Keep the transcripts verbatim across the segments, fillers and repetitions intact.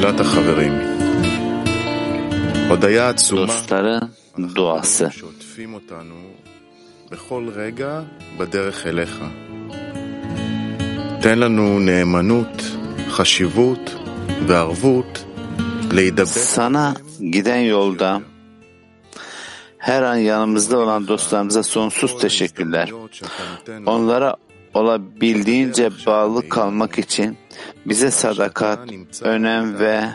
Dostların duası. Sana giden yolda her an yanımızda olan dostlarımıza sonsuz teşekkürler. Onlara olabildiğince bağlı kalmak için bize sadakat, önem ve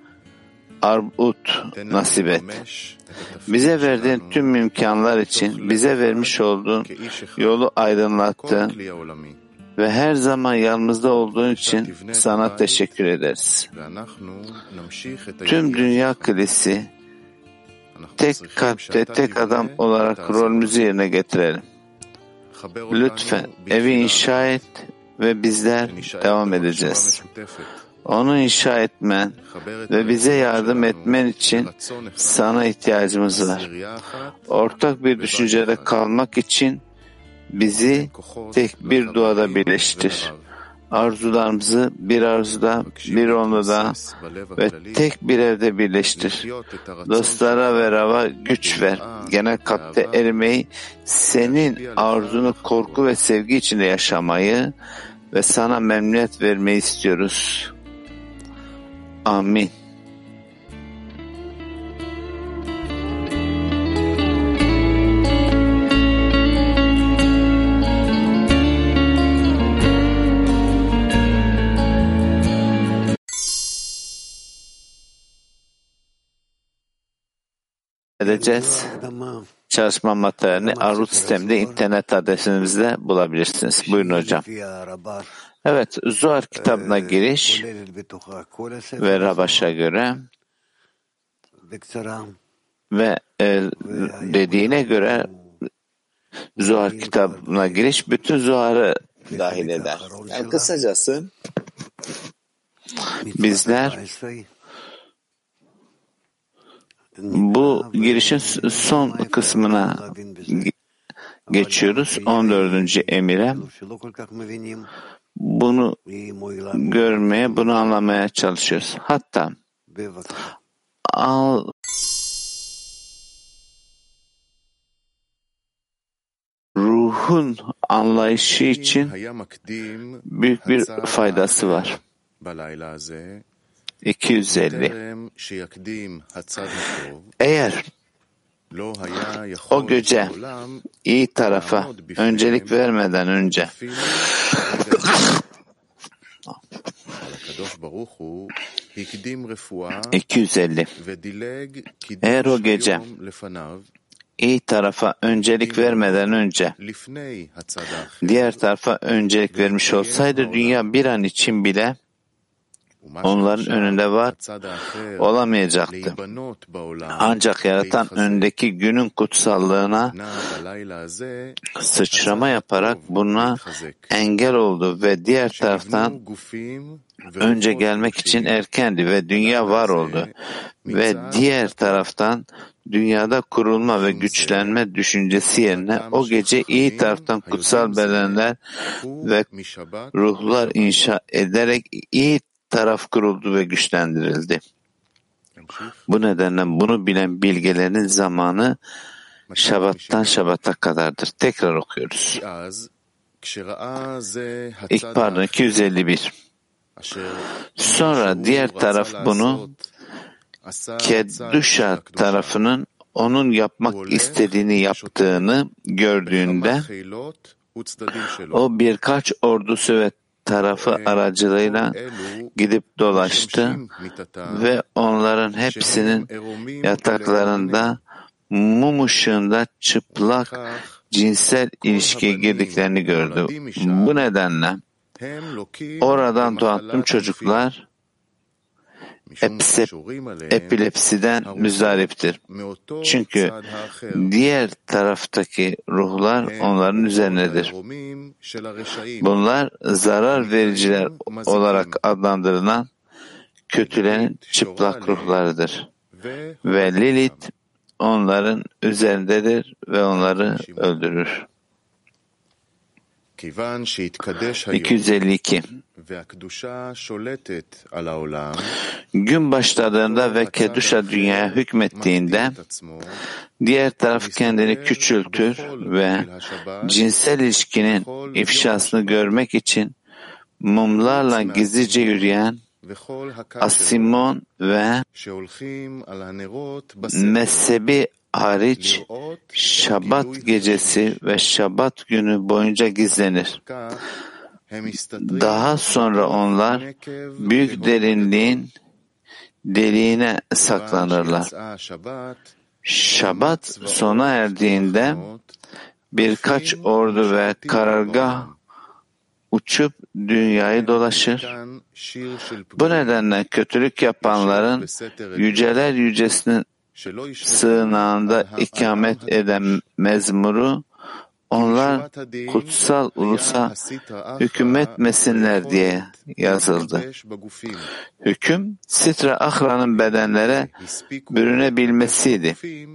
arbut nasip et. Bize verdiğin tüm imkanlar için bize vermiş olduğun yolu aydınlattın ve her zaman yanımızda olduğun için sana teşekkür ederiz. Tüm dünya kilisi tek kalpte tek adam olarak rolümüzü yerine getirelim. Lütfen evi inşa et ve bizler devam edeceğiz. Onu inşa etmen ve bize yardım etmen için sana ihtiyacımız var. Ortak bir düşüncede kalmak için bizi tek bir duada birleştir. Arzularımızı bir arzuda, bir onda ve tek bir evde birleştir. Dostlara ve Rab'a güç ver. Genel kalpte erimeyi, senin arzunu korku ve sevgi içinde yaşamayı ve sana memnuniyet vermeyi istiyoruz. Amin. Edeceğiz. Çalışma materyalini Arut sisteminde internet adresimizde bulabilirsiniz. Buyurun hocam. Evet, Zohar kitabına giriş ve Rabaş'a göre ve e, dediğine göre Zohar kitabına giriş bütün Zohar'ı dahil eder. Yani kısacası bizler bu girişin son kısmına geçiyoruz. on dördüncü emire. Bunu görmeye, bunu anlamaya çalışıyoruz. Hatta al, ruhun anlayışı için büyük bir faydası var. iki yüz elli. Eğer o gece iyi tarafa öncelik vermeden önce iki yüz elli. Eğer o gece iyi tarafa öncelik vermeden önce diğer tarafa öncelik vermiş olsaydı dünya bir an için bile onların önünde var olamayacaktı. Ancak yaratan önündeki günün kutsallığına sıçrama yaparak buna engel oldu ve diğer taraftan önce gelmek için erkendi ve dünya var oldu ve diğer taraftan dünyada kurulma ve güçlenme düşüncesi yerine o gece iyi taraftan kutsal bedenler ve ruhlar inşa ederek iyi taraf kuruldu ve güçlendirildi. Bu nedenle bunu bilen bilgelerin zamanı Şabat'tan Şabat'a kadardır. Tekrar okuyoruz. İlk pardon iki yüz elli bir. Sonra diğer taraf bunu Kedduşa tarafının onun yapmak istediğini yaptığını gördüğünde o birkaç ordusu ve tarafı aracılığıyla gidip dolaştı ve onların hepsinin yataklarında mum ışığında çıplak cinsel ilişkiye girdiklerini gördü. Bu nedenle oradan doğan tüm çocuklar epilepsiden müzdariptir. Çünkü diğer taraftaki ruhlar onların üzerindedir. Bunlar zarar vericiler olarak adlandırılan kötülerin çıplak ruhlarıdır. Ve Lilith onların üzerindedir ve onları öldürür. iki yüz elli iki. Gün başladığında ve Keduşa dünyaya hükmettiğinde diğer taraf kendini küçültür ve cinsel ilişkinin ifşasını görmek için mumlarla gizlice yürüyen Asimon ve mezhebi hariç Şabat gecesi ve Şabat günü boyunca gizlenir. Daha sonra onlar büyük derinliğin deliğine saklanırlar. Şabat sona erdiğinde birkaç ordu ve karargah uçup dünyayı dolaşır. Bu nedenle kötülük yapanların yüceler yücesinin sığınağında ikamet eden mezmuru onlar kutsal ulusa hükmetmesinler diye yazıldı. Hüküm Sitra Achra'nın bedenlere bürünebilmesiydi.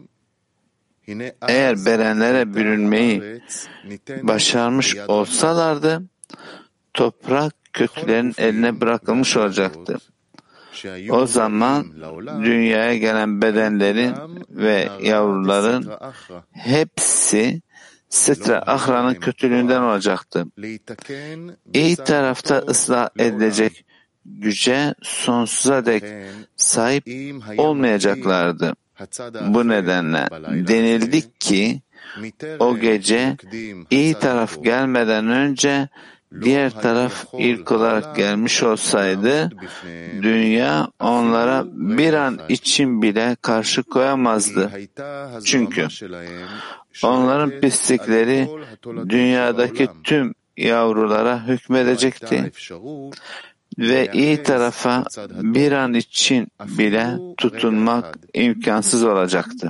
Eğer bedenlere bürünmeyi başarmış olsalardı, toprak kötülerin eline bırakılmış olacaktı. O zaman dünyaya gelen bedenlerin ve yavruların hepsi Sitra Achra'nın kötülüğünden olacaktı. İyi tarafta ıslah edilecek güce sonsuza dek sahip olmayacaklardı. Bu nedenle denildi ki o gece iyi taraf gelmeden önce diğer taraf ilk olarak gelmiş olsaydı dünya onlara bir an için bile karşı koyamazdı. Çünkü onların pislikleri dünyadaki tüm yavrulara hükmedecekti ve iyi tarafa bir an için bile tutunmak imkansız olacaktı.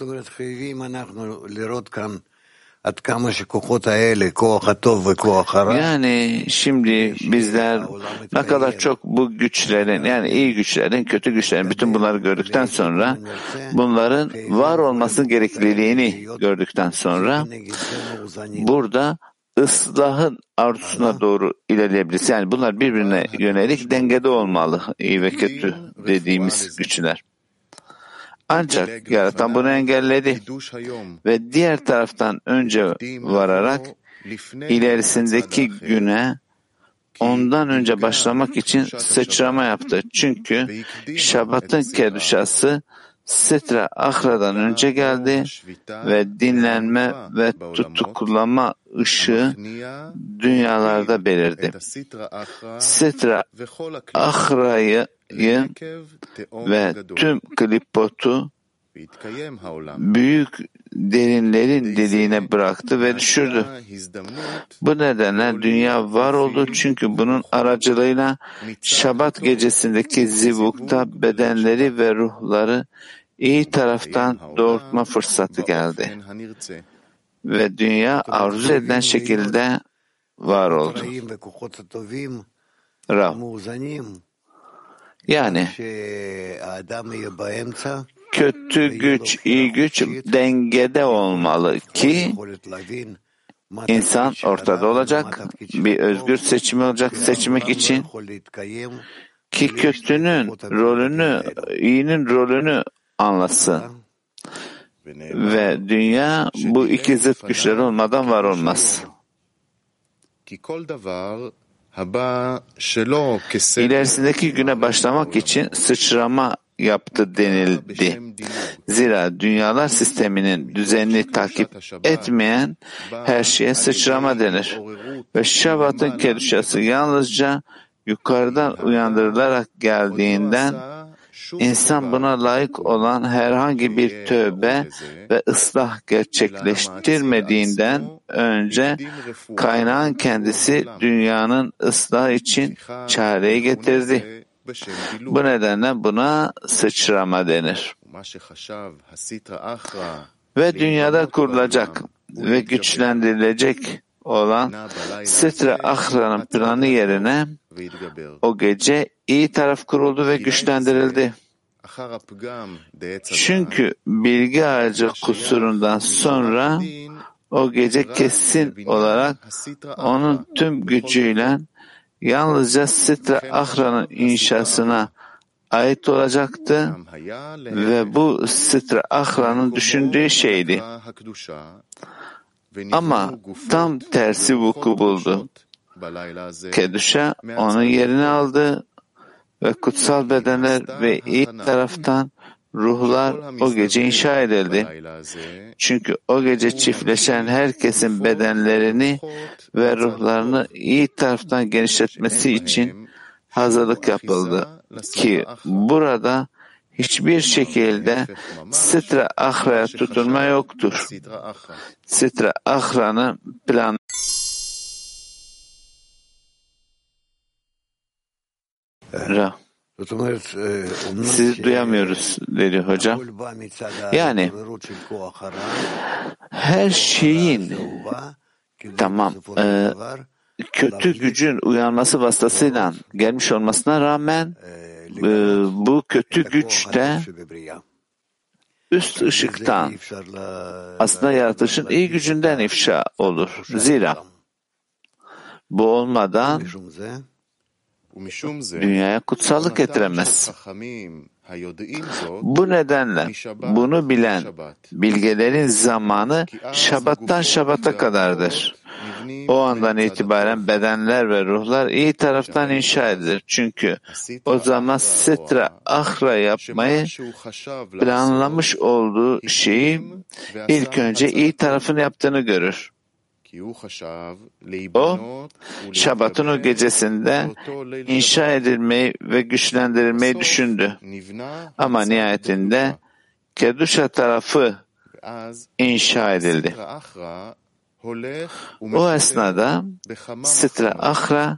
Yani şimdi bizler ne kadar çok bu güçlerin, yani iyi güçlerin, kötü güçlerin, bütün bunları gördükten sonra, bunların var olması gerekliliğini gördükten sonra burada ıslahın arzusuna doğru ilerleyebiliriz. Yani bunlar birbirine yönelik dengede olmalı, iyi ve kötü dediğimiz güçler. Ancak yaratan bunu engelledi ve diğer taraftan önce vararak ilerisindeki güne ondan önce başlamak için sıçrama yaptı. Çünkü Şabat'ın keduşası Sitra Achra'dan önce geldi ve dinlenme ve tutuklama ışığı dünyalarda belirdi. Sitra Achra'yı ve tüm klipotu büyük derinlerin deliğine bıraktı ve düşürdü. Bu nedenle dünya var oldu çünkü bunun aracılığıyla Şabat gecesindeki zivukta bedenleri ve ruhları iyi taraftan doğurtma fırsatı geldi. Ve dünya arzu edilen şekilde var oldu. Rav. Yani kötü güç, iyi güç dengede olmalı ki insan ortada olacak, bir özgür seçimi olacak seçmek için ki kötünün rolünü, iyinin rolünü anlasın. Ve dünya bu iki zıt güçler olmadan var olmaz. İlerisindeki güne başlamak için sıçrama yaptı denildi. Zira dünyalar sisteminin düzenini takip etmeyen her şeye sıçrama denir. Ve Şabat'ın keduşası yalnızca yukarıdan uyandırılarak geldiğinden insan buna layık olan herhangi bir tövbe ve ıslah gerçekleştirmediğinden önce kaynağın kendisi dünyanın ıslahı için çareyi getirdi. Bu nedenle buna sıçrama denir. Ve dünyada kurulacak ve güçlendirilecek olan Sitra Achra'nın planı yerine o gece iyi taraf kuruldu ve güçlendirildi. Çünkü bilgi ağacı kusurundan sonra o gece kesin olarak onun tüm gücüyle yalnızca Sitra Achra'nın inşasına ait olacaktı ve bu Sitra Achra'nın düşündüğü şeydi. Ama tam tersi vuku buldu. Keduşa onun yerini aldı ve kutsal bedenler ve iyi taraftan ruhlar o gece inşa edildi. Çünkü o gece çiftleşen herkesin bedenlerini ve ruhlarını iyi taraftan genişletmesi için hazırlık yapıldı ki burada hiçbir şekilde Sitra Achra'ya tutunma yoktur. Sitra Achra'nın planı Ra. Sizi duyamıyoruz dedi hocam. Yani her şeyin tamam e, kötü gücün uyanması vasıtasıyla gelmiş olmasına rağmen e, bu kötü güç de üst ışıktan aslında yaratılışın iyi gücünden ifşa olur. Zira bu olmadan dünyaya kutsallık getiremez. Bu nedenle bunu bilen bilgelerin zamanı Şabat'tan Şabat'a kadardır. O andan itibaren bedenler ve ruhlar iyi taraftan inşa edilir. Çünkü o zaman Sitra Achra yapmayı planlamış olduğu şeyi ilk önce iyi tarafını yaptığını görür. O, Şabat'ın o gecesinde inşa edilmeyi ve güçlendirilmeyi düşündü. Ama nihayetinde Keduşa tarafı inşa edildi. O esnada Sitra Achra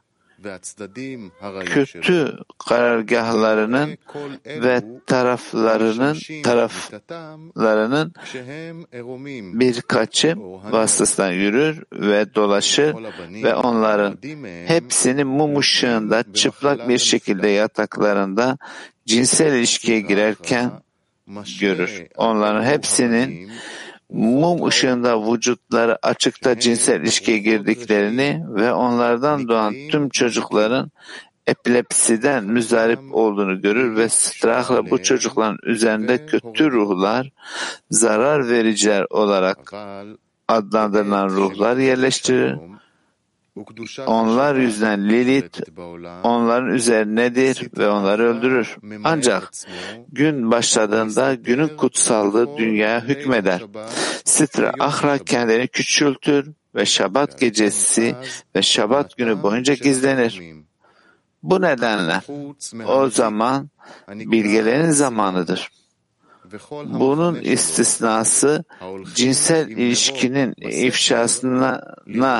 kötü karargahlarının ve taraflarının taraflarının birkaçı vasıtasından yürür ve dolaşır ve onların hepsini mum ışığında çıplak bir şekilde yataklarında cinsel ilişkiye girerken görür. Onların hepsinin mum ışığında vücutları açıkta cinsel ilişkiye girdiklerini ve onlardan doğan tüm çocukların epilepsiden müzdarip olduğunu görür ve Sitra Achra bu çocukların üzerinde kötü ruhlar, zarar vericiler olarak adlandırılan ruhlar yerleştirir. Onlar yüzünden Lilith onların üzerindedir ve onları öldürür. Ancak gün başladığında günün kutsallığı dünyaya hükmeder. Sitra Achra kendini küçültür ve Şabat gecesi ve Şabat günü boyunca gizlenir. Bu nedenle o zaman bilgelerin zamanıdır. Bunun istisnası cinsel ilişkinin ifşasına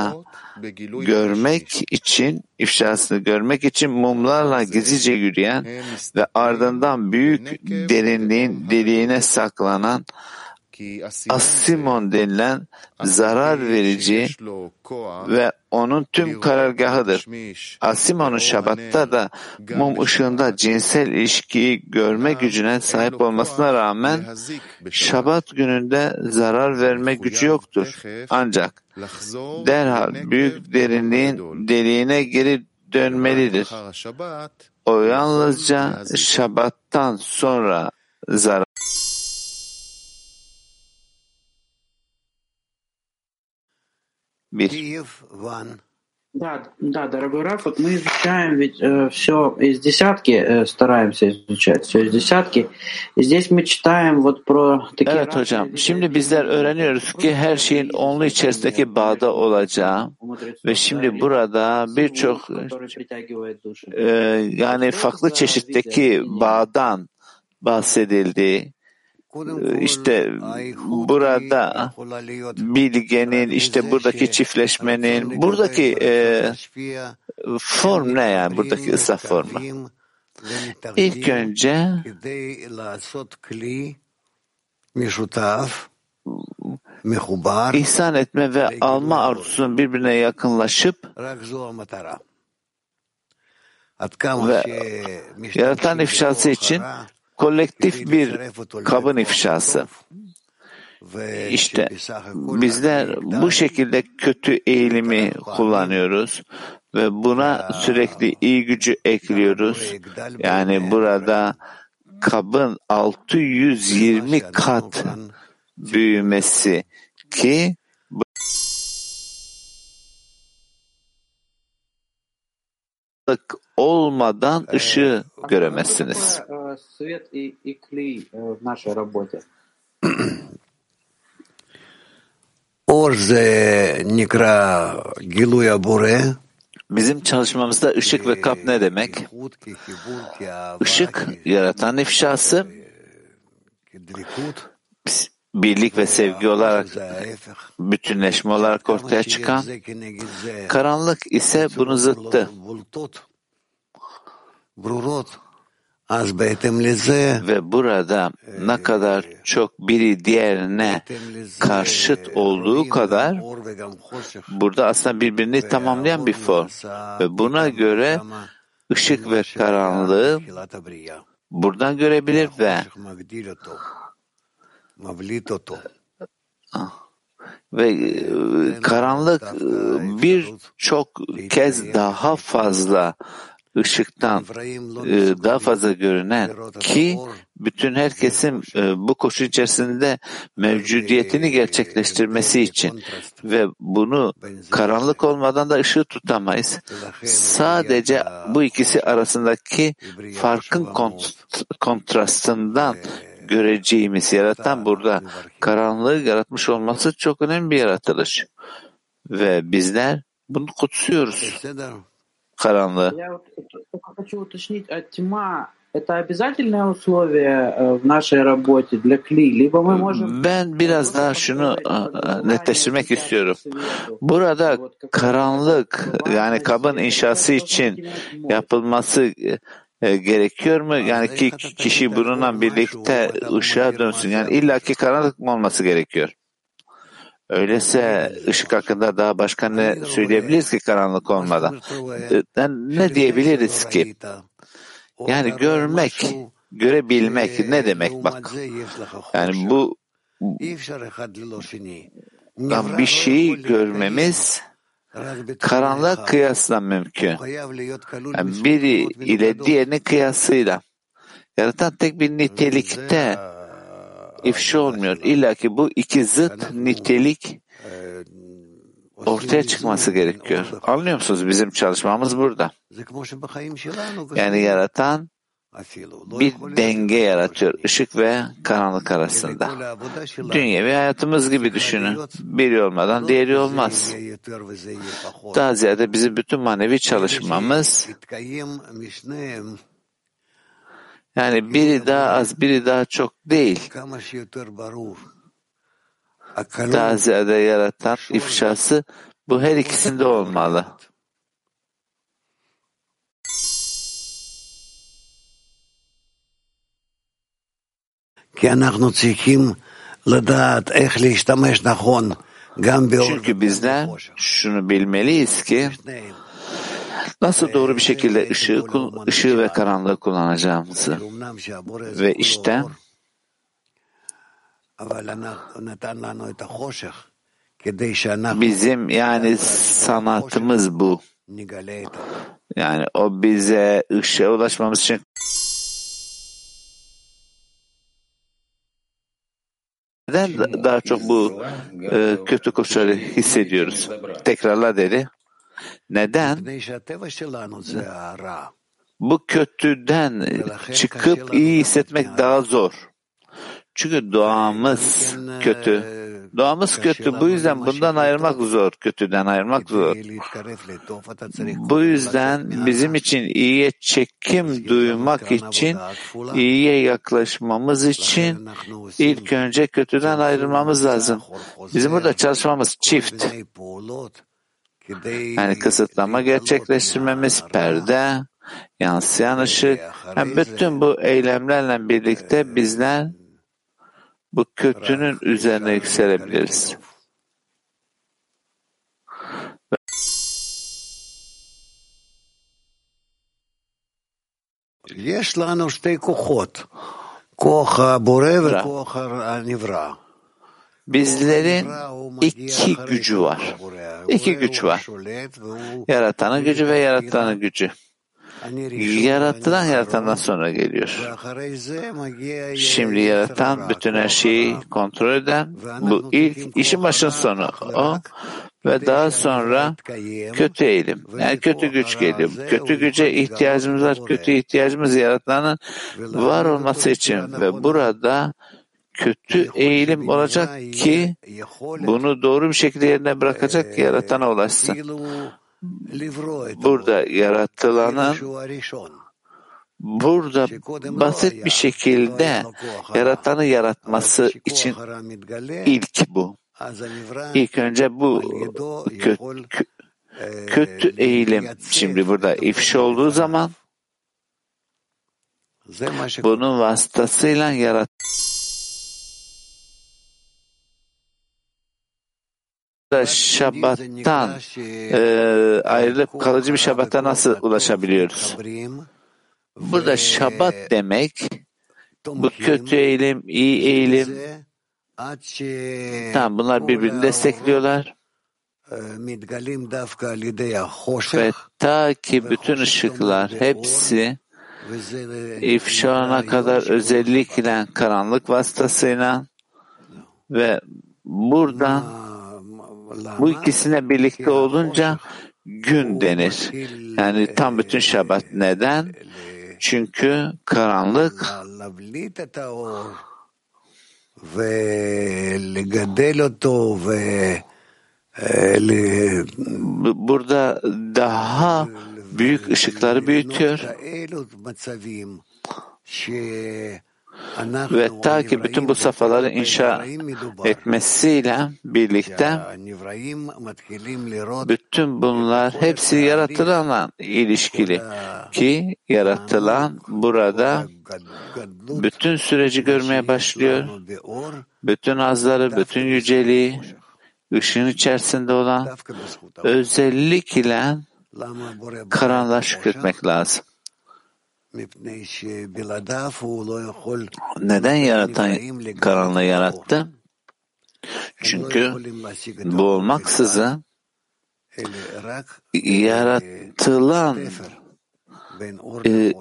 görmek için, ifşasını görmek için mumlarla gizlice yürüyen ve ardından büyük derinliğin deliğine saklanan Asimon denilen zarar verici ve onun tüm karargahıdır. Asimon'un Şabat'ta da mum ışığında cinsel ilişkiyi görme gücüne sahip olmasına rağmen Şabat gününde zarar verme gücü yoktur. Ancak derhal büyük derinliğin deliğine geri dönmelidir. O yalnızca Şabat'tan sonra zarar Bir. Да, да, дорогой Раф, вот мы изучаем ведь э, все из десятки, э, стараемся изучать все из десятки. И здесь мы читаем вот про такие... Evet hocam, şimdi bizler öğreniyoruz ki her şeyin onlu içerisindeki bağda olacağı ve şimdi burada birçok e, yani farklı çeşitteki bağdan bahsedildi. İşte burada bilgenin, işte buradaki çiftleşmenin, buradaki e, form ne yani, buradaki ıslah formu? İlk önce ihsan etme ve alma arzusunun birbirine yakınlaşıp ve yaratan ifşası için kolektif bir kabın ifşası. İşte bizler bu şekilde kötü eğilimi kullanıyoruz ve buna sürekli iyi gücü ekliyoruz. Yani burada kabın altı yüz yirmi kat büyümesi ki olmadan ışığı göremezsiniz. Bizim çalışmamızda ışık ve kap ne demek? Işık, yaratan ifşası, birlik ve sevgi olarak, bütünleşme olarak ortaya çıkan, karanlık ise bunun zıttı. Ve burada ne kadar çok biri diğerine karşıt olduğu kadar burada aslında birbirini tamamlayan bir form. Ve buna göre ışık ve karanlığı buradan görebilir ve ve karanlık birçok kez daha fazla ışıktan daha fazla görünen ki bütün herkesin bu koşu içerisinde mevcudiyetini gerçekleştirmesi için ve bunu karanlık olmadan da ışığı tutamayız. Sadece bu ikisi arasındaki farkın kont- kontrastından göreceğimiz yaratan burada karanlığı yaratmış olması çok önemli bir yaratılış. Ve bizler bunu kutsuyoruz. Karanlığı. Ben biraz daha şunu netleştirmek istiyorum. Burada karanlık, yani kabın inşası için yapılması gerekiyor mu? Yani ki kişi bununla birlikte ışığa dönsün. Yani illaki karanlık mı olması gerekiyor? Öyleyse ışık hakkında daha başka ne söyleyebiliriz ki karanlık olmadan? Ne diyebiliriz ki? Yani görmek, görebilmek ne demek bak? Yani bu bir şeyi görmemiz karanlığa kıyasla mümkün. Yani biri ile diğerinin kıyasıyla. Yaratan tek bir nitelikte ifşa olmuyor. İlla ki bu iki zıt nitelik ortaya çıkması gerekiyor. Anlıyor musunuz? Bizim çalışmamız burada. Yani yaratan bir denge yaratıyor. Işık ve karanlık arasında. Dünyevi hayatımız gibi düşünün. Biri olmadan diğeri olmaz. Daha ziyade bizim bütün manevi çalışmamız yani biri daha az, biri daha çok değil. Daha ziyade yaratan ifşası bu her ikisinde olmalı. Çünkü bizler şunu bilmeliyiz ki nasıl doğru bir şekilde ışığı, ışığı ve karanlığı kullanacağımızı. Ve işte bizim yani sanatımız bu. Yani o bize ışığa ulaşmamız için neden daha çok bu e, kötü koşulları hissediyoruz? Tekrarla dedi. Neden? Bu kötüden çıkıp iyi hissetmek daha zor. Çünkü doğamız kötü. Doğamız kötü. Bu yüzden bundan ayırmak zor. Kötüden ayırmak zor. Bu yüzden bizim için iyiye çekim duymak için, iyiye yaklaşmamız için ilk önce kötüden ayrılmamız lazım. Bizim burada çalışmamız çift. Yani kısıtlama gerçekleştirmemiz, perde, yansıyan ışık. Yani bütün bu eylemlerle birlikte bizler bu kötünün üzerine yükselebiliriz. יש לנו שתי כוחות, כוח הבורא וכוח הנברא. Bizlerin iki gücü var. İki güç var. Yaratanın gücü ve yaratanın gücü. Yaratılan yaratandan sonra geliyor. Şimdi yaratan bütün her şeyi kontrol eden, bu ilk işin başın sonu o ve daha sonra kötü eğilim. Yani kötü güç geliyor. Kötü güce ihtiyacımız var. Kötü ihtiyacımız yaratanın var olması için ve burada kötü eğilim olacak ki bunu doğru bir şekilde yerine bırakacak ki yaratana ulaşsın. Burada yaratılanın burada basit bir şekilde yaratanı yaratması için ilk bu. İlk önce bu kötü, kötü eğilim şimdi burada ifşa olduğu zaman bunun vasıtasıyla yarat Şabat'tan e, ayrılıp kalıcı bir Şabat'a nasıl ulaşabiliyoruz? Burada Şabat demek bu kötü eğilim, iyi eğilim. Tamam, bunlar birbirini destekliyorlar. Ve ta ki bütün ışıklar hepsi ifşana kadar özellikle karanlık vasıtasıyla ve burada bu ikisine birlikte olunca gün denir. Yani tam bütün Şabat. Neden? Çünkü karanlık burada daha büyük ışıkları büyütüyor. Ve ta ki bütün bu safhaları inşa etmesiyle birlikte bütün bunlar hepsi yaratılanla ilişkili ki yaratılan burada bütün süreci görmeye başlıyor. Bütün azları, bütün yüceliği, ışığın içerisinde olan özellikle karanlığa şükretmek lazım. Neden yaratan karanlığı yarattı? Çünkü bu olmaksızın yaratılan e,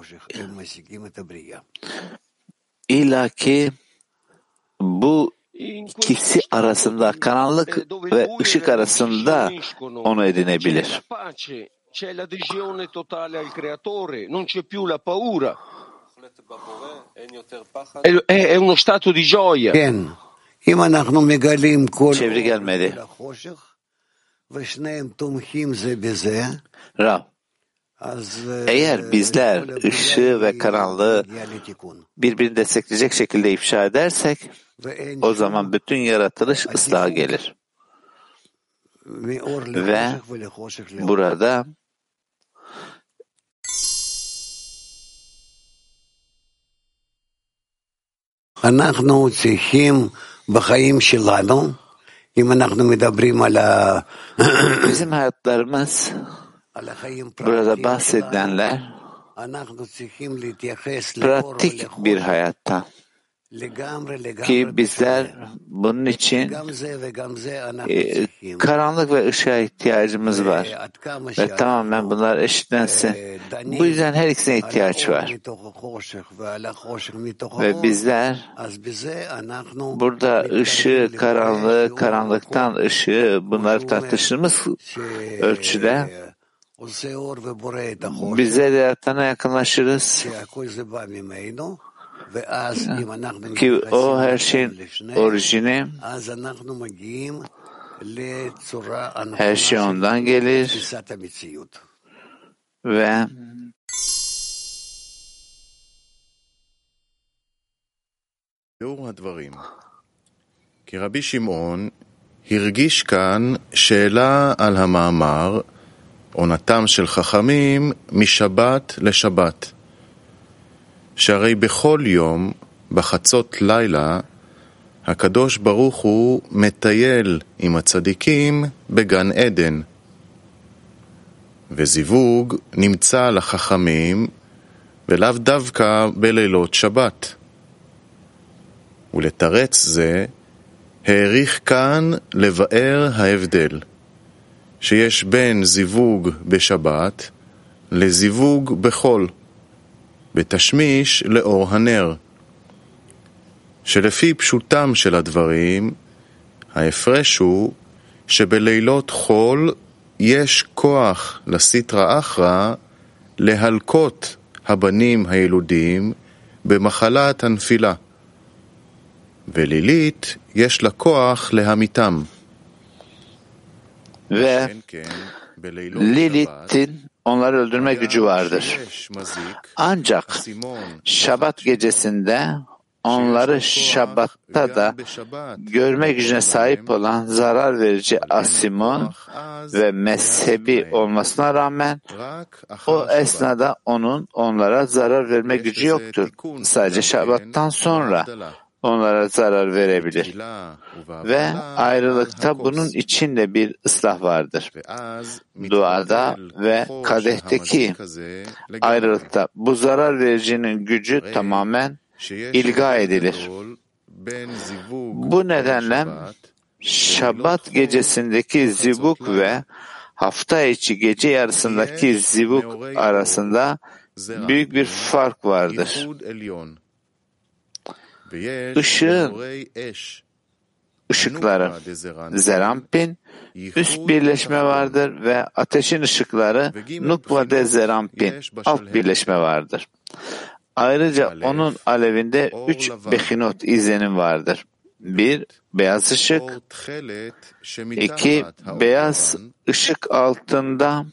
ilaki bu ikisi arasında, karanlık ve ışık arasında onu edinebilir. C'è l'adesione totale al creatore, non c'è più la paura. È, è uno stato di gioia. Çeviri gelmedi. Rav, eğer bizler ışığı ve karanlığı birbirini destekleyecek şekilde ifşa edersek, o zaman bütün yaratılış ıslaha gelir. Ve burada אנחנו צריכים בחיים שלנו, אם אנחנו מדברים על ה... bizim hayatlarımız burada bahsedilenler pratik bir hayatta ki bizler bunun için e, karanlık ve ışığa ihtiyacımız var ve tamamen bunlar eşitlensin. Bu yüzden her ikisine ihtiyaç var. Ve bizler burada ışığı, karanlığı, karanlıktan ışığı bunları tartıştığımız ölçüde bize de yaratana yakınlaşırız. Ki o her şeyin orijini, her şey ondan gelir ve כי רבי שמעון הרגיש כאן שאלה על המאמר עונתם של חכמים משבת לשבת. שהרי בכל יום, בחצות לילה, הקדוש ברוך הוא מטייל עם הצדיקים בגן עדן. וזיווג נמצא לחכמים, ולאו דווקא בלילות שבת. ולתרץ זה, העריך כאן לבאר ההבדל שיש בין זיווג בשבת לזיווג בחול, בתשמיש לאור הנר, שלפי פשוטם של הדברים, ההפרש הוא שבלילות חול יש כוח לסטרא אחרא להלקות הבנים הילודים במחלת הנפילה, ולילית יש לה כוח להמיתם. Ve Lilith'in onları öldürme gücü vardır. Ancak Şabat gecesinde onları Şabat'ta da görme gücüne sahip olan zarar verici Asimon ve mezhebi olmasına rağmen o esnada onun onlara zarar verme gücü yoktur. Sadece Şabat'tan sonra onlara zarar verebilir. Ve ayrılıkta bunun içinde bir ıslah vardır. Duada ve kadehteki ayrılıkta bu zarar vericinin gücü tamamen ilga edilir. Bu nedenle Şabat gecesindeki zivuk ve hafta içi gece yarısındaki zivuk arasında büyük bir fark vardır. Işığın ışıkları Zerampin üst birleşme vardır ve ateşin ışıkları Nukva de Zerampin alt birleşme vardır. Ayrıca onun alevinde üç behinot izlenim vardır. Bir, beyaz ışık. İki, beyaz ışık altında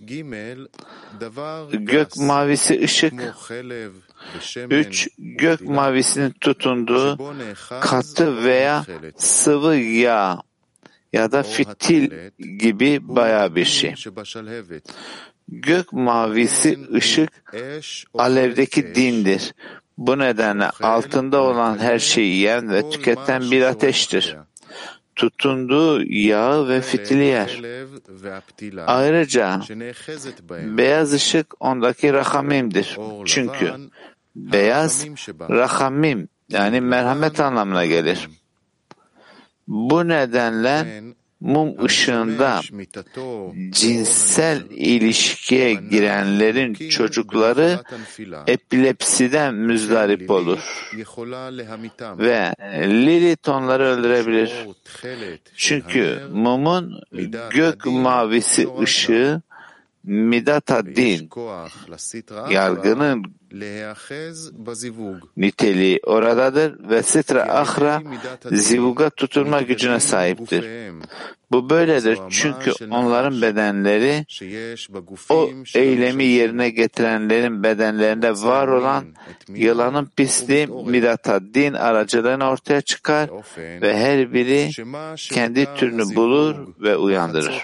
gök mavisi ışık. Üç, gök mavisinin tutunduğu katı veya sıvı yağ ya da fitil gibi bayağı bir şey. Gök mavisi ışık alevdeki dindir. Bu nedenle altında olan her şeyi yiyen ve tüketen bir ateştir. Tutunduğu yağı ve fitili yer. Ayrıca beyaz ışık ondaki rahamimdir. Çünkü beyaz rahamim yani merhamet anlamına gelir. Bu nedenle mum ışığında cinsel ilişkiye girenlerin çocukları epilepsiden müzdarip olur ve Lilith onları öldürebilir. Çünkü mumun gök mavisi ışığı Midat din, yargının niteliği oradadır ve sitra ahra zivuga tutunma gücüne sahiptir. Bu böyledir çünkü onların bedenleri o eylemi yerine getirenlerin bedenlerinde var olan yılanın pisliği Midat din aracılığıyla ortaya çıkar ve her biri kendi türünü bulur ve uyandırır.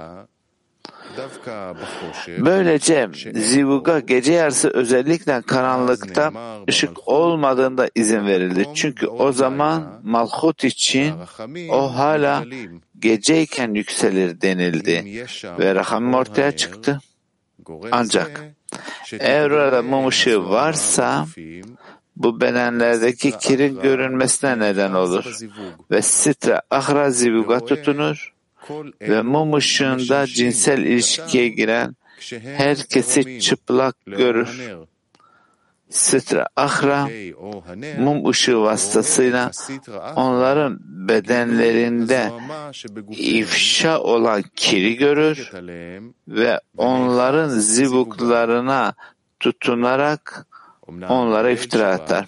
Böylece zivuga gece yarısı özellikle karanlıkta ışık olmadığında izin verildi. Çünkü o zaman malhut için o hala geceyken yükselir denildi ve rahamim ortaya çıktı. Ancak eğer orada mum ışığı varsa bu bedenlerdeki kirin görünmesine neden olur ve sitra ahra zivuga tutunur ve mum ışığında cinsel ilişkiye giren herkesi çıplak görür. Sitra ahra mum ışığı vasıtasıyla onların bedenlerinde ifşa olan kiri görür ve onların zivuklarına tutunarak onlara iftira atar.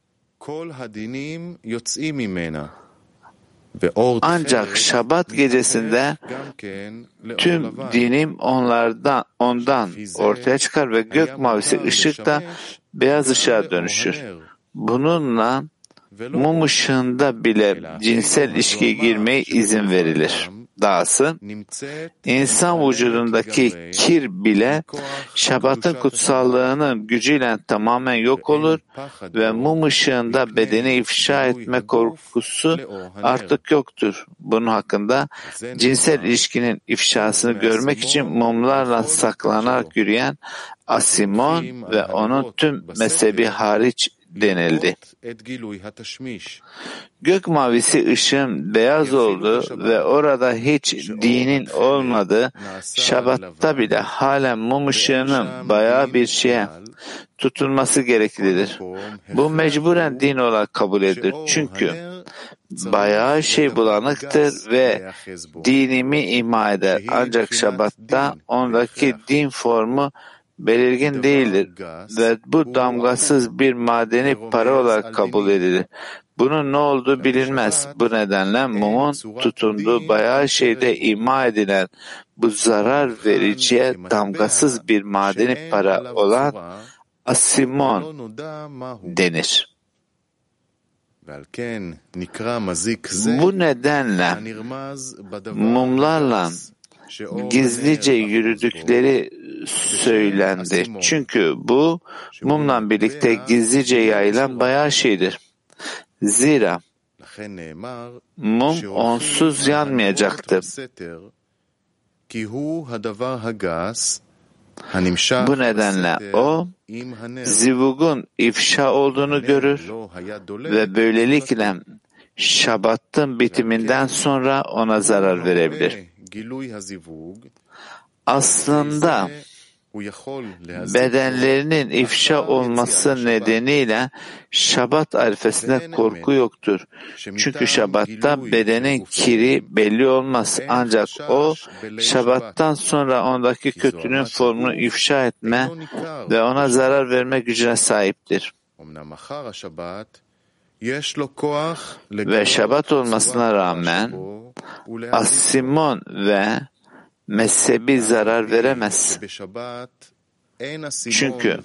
Ancak Şabat gecesinde tüm dinim onlardan ondan ortaya çıkar ve gök mavisi ışık da beyaz ışığa dönüşür. Bununla mum ışığında bile cinsel ilişkiye girmeye izin verilir. Dahası insan vücudundaki kir bile Şabat'ın kutsallığının gücüyle tamamen yok olur ve mum ışığında bedeni ifşa etme korkusu artık yoktur. Bunun hakkında cinsel ilişkinin ifşasını görmek için mumlarla saklanarak yürüyen Asimon ve onun tüm mezhebi hariç denildi. Gök mavisi ışığın beyaz oldu ve orada hiç dinin olmadığı Şabat'ta bile halen mum ışığının bayağı bir şeye tutulması gereklidir. Bu mecburen din olarak kabul edilir. Çünkü bayağı şey bulanıktır ve dinimi ima eder. Ancak Şabat'ta ondaki din formu belirgin değildir ve bu damgasız bir madeni para olarak kabul edilir. Bunun ne olduğu bilinmez. Bu nedenle mumun tutunduğu bayağı şeyde ima edilen bu zarar vericiye damgasız bir madeni para olan asimon denir. Bu nedenle mumlarla gizlice yürüdükleri söylendi. Çünkü bu mumla birlikte gizlice yayılan bayağı şeydir. Zira mum onsuz yanmayacaktı. Bu nedenle o zivugun ifşa olduğunu görür ve böylelikle Şabat'ın bitiminden sonra ona zarar verebilir. Aslında bedenlerinin ifşa olması nedeniyle Şabat arifesinde korku yoktur. Çünkü Şabat'ta bedenin kiri belli olmaz. Ancak o Şabat'tan sonra ondaki kötülüğün formunu ifşa etme ve ona zarar verme gücüne sahiptir. Ve Şabat olmasına rağmen asimon ve mezhebi zarar veremez. Çünkü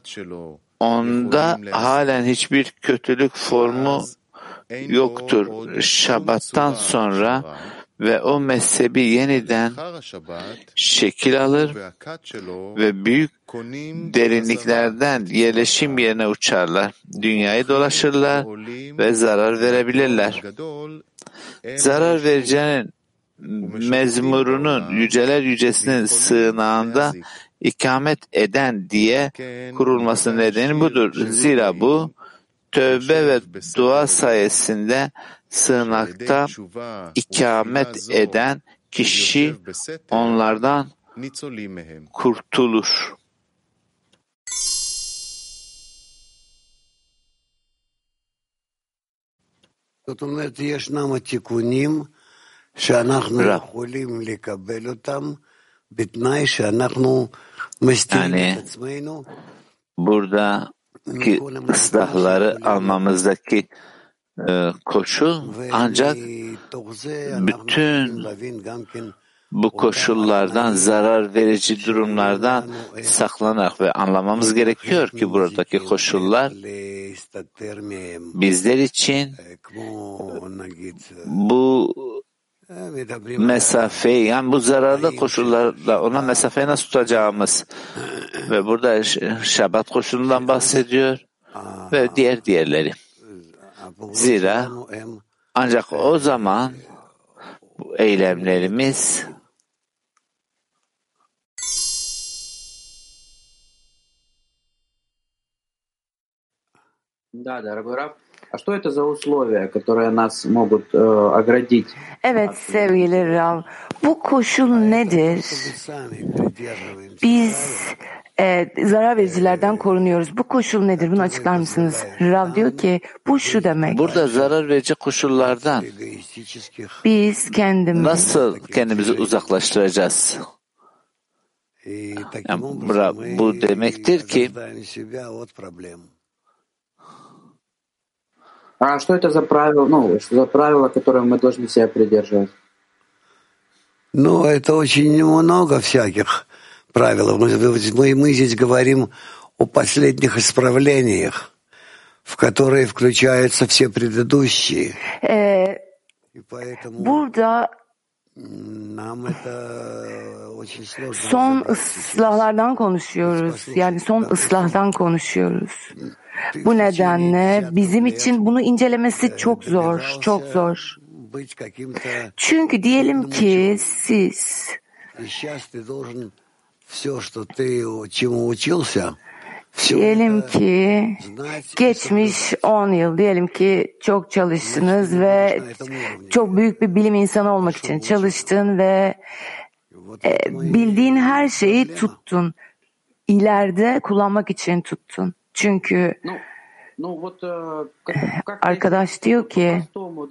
onda halen hiçbir kötülük formu yoktur Şabat'tan sonra ve o mezhebi yeniden şekil alır ve büyük derinliklerden yerleşim yerine uçarlar. Dünyayı dolaşırlar ve zarar verebilirler. Zarar vereceğinin mezmurunun yüceler yücesinin sığınağında ikamet eden diye kurulması nedeni budur. Zira bu tövbe ve dua sayesinde sığınakta ikamet eden kişi onlardan kurtulur. Yani buradaki ıslahları almamızdaki e, koşul ancak bütün bu koşullardan, zarar verici durumlardan saklanarak ve anlamamız gerekiyor ki buradaki koşullar bizler için bu mesafeyi, yani bu zararlı koşullarla ona mesafeyi nasıl tutacağımız ve burada Şabat koşulundan bahsediyor ve diğer diğerleri. Zira ancak o zaman bu eylemlerimiz Да, дорогой Рав, а что это за условия, которые нас могут э, оградить? Evet sevgili Rav, bu koşul nedir? Biz e, zarar vericilerden korunuyoruz. Bu koşul nedir? Bunu açıklar mısınız? Rav diyor ki bu şu demek. Burada zarar verici koşullardan biz kendimizi nasıl kendimizi uzaklaştıracağız? Yani bu demektir ki А что это за правило, ну, что за правило, которое мы должны себя придерживать? Ну, это очень много всяких правил. Мы, мы здесь говорим о последних исправлениях, в которые включаются все предыдущие. Ee, И поэтому burada нам это очень сложно. son ıslahlardan konuşuyoruz. Yani son ıslahdan konuşuyoruz. Bu nedenle bizim için bunu incelemesi çok zor, çok zor. Çünkü diyelim ki siz Diyelim ki geçmiş on yıl, diyelim ki çok çalıştınız ve çok büyük bir bilim insanı olmak için çalıştın ve e, bildiğin her şeyi tuttun. İleride kullanmak için tuttun. Çünkü arkadaş diyor ki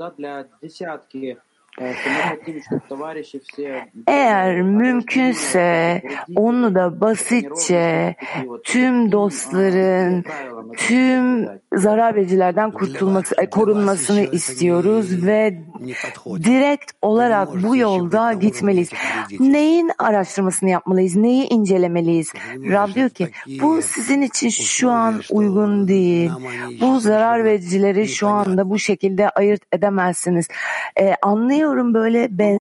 eğer mümkünse onu da basitçe tüm dostların, tüm zarar vericilerden kurtulması, korunmasını istiyoruz ve direkt olarak bu yolda gitmeliyiz. Neyin araştırmasını yapmalıyız? Neyi incelemeliyiz? Rab diyor ki bu sizin için şu an uygun değil. Bu zarar vericileri şu anda bu şekilde ayırt edemezsiniz. Ee, anlıyorum böyle ben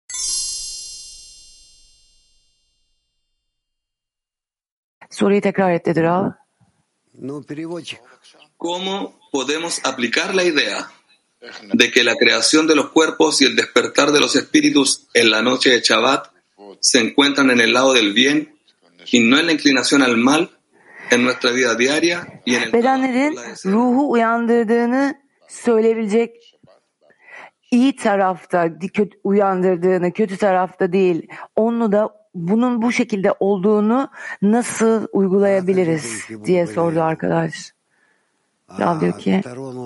soruyu tekrar et dedi Rav. ¿Cómo podemos aplicar la idea de que la creación de los cuerpos y el despertar de los espíritus en la noche de Shabbat se encuentran en el lado del bien y no en la inclinación al mal en nuestra vida diaria y en el bedenlerin ruhu uyandırdığını söyleyebilecek iyi tarafta, kötü, uyandırdığını, kötü tarafta değil, onu da bunun bu şekilde olduğunu nasıl uygulayabiliriz diye sordu arkadaş. Rav diyor ki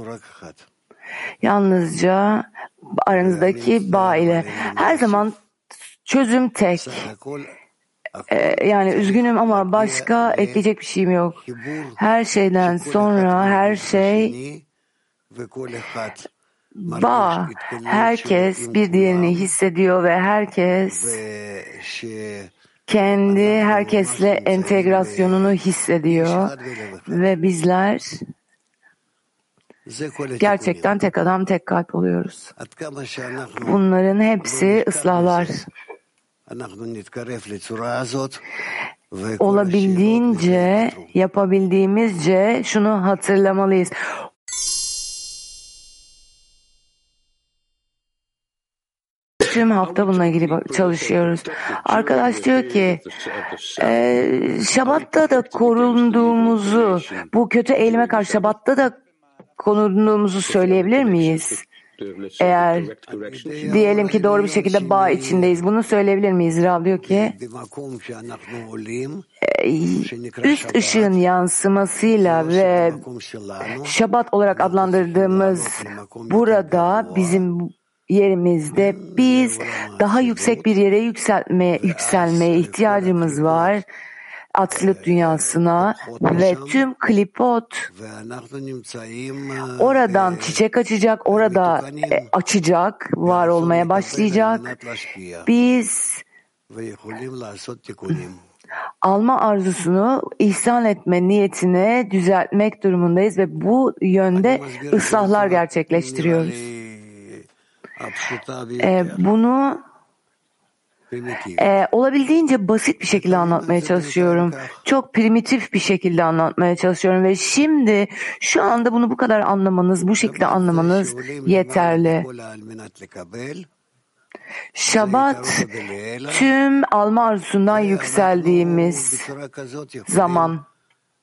yalnızca aranızdaki bağ ile her zaman çözüm tek. Ee, yani üzgünüm ama başka ekleyecek bir şeyim yok. Her şeyden sonra her şey bağ. Herkes bir diğerini hissediyor ve herkes kendi herkesle entegrasyonunu hissediyor ve bizler gerçekten tek adam tek kalp oluyoruz. Bunların hepsi ıslahlar. Olabildiğince, yapabildiğimizce şunu hatırlamalıyız. Tüm hafta bununla ilgili çalışıyoruz. Arkadaş diyor ki e, Şabat'ta da korunduğumuzu, bu kötü eğilime karşı Şabat'ta da korunduğumuzu söyleyebilir miyiz? Eğer diyelim ki doğru bir şekilde bağ içindeyiz, bunu söyleyebilir miyiz? Rav diyor ki üst ışığın yansımasıyla ve Şabat olarak adlandırdığımız burada bizim yerimizde biz daha yüksek bir yere yükselmeye, yükselmeye ihtiyacımız var. Atlut dünyasına ve tüm klipot oradan çiçek açacak, orada açacak, var olmaya başlayacak. Biz alma arzusunu ihsan etme niyetine düzeltmek durumundayız ve bu yönde ıslahlar gerçekleştiriyoruz. Ee, bunu Ee, olabildiğince basit bir şekilde anlatmaya çalışıyorum. Çok primitif bir şekilde anlatmaya çalışıyorum ve şimdi şu anda bunu bu kadar anlamanız, bu şekilde anlamanız yeterli. Şabat tüm alma arzusundan yükseldiğimiz zaman.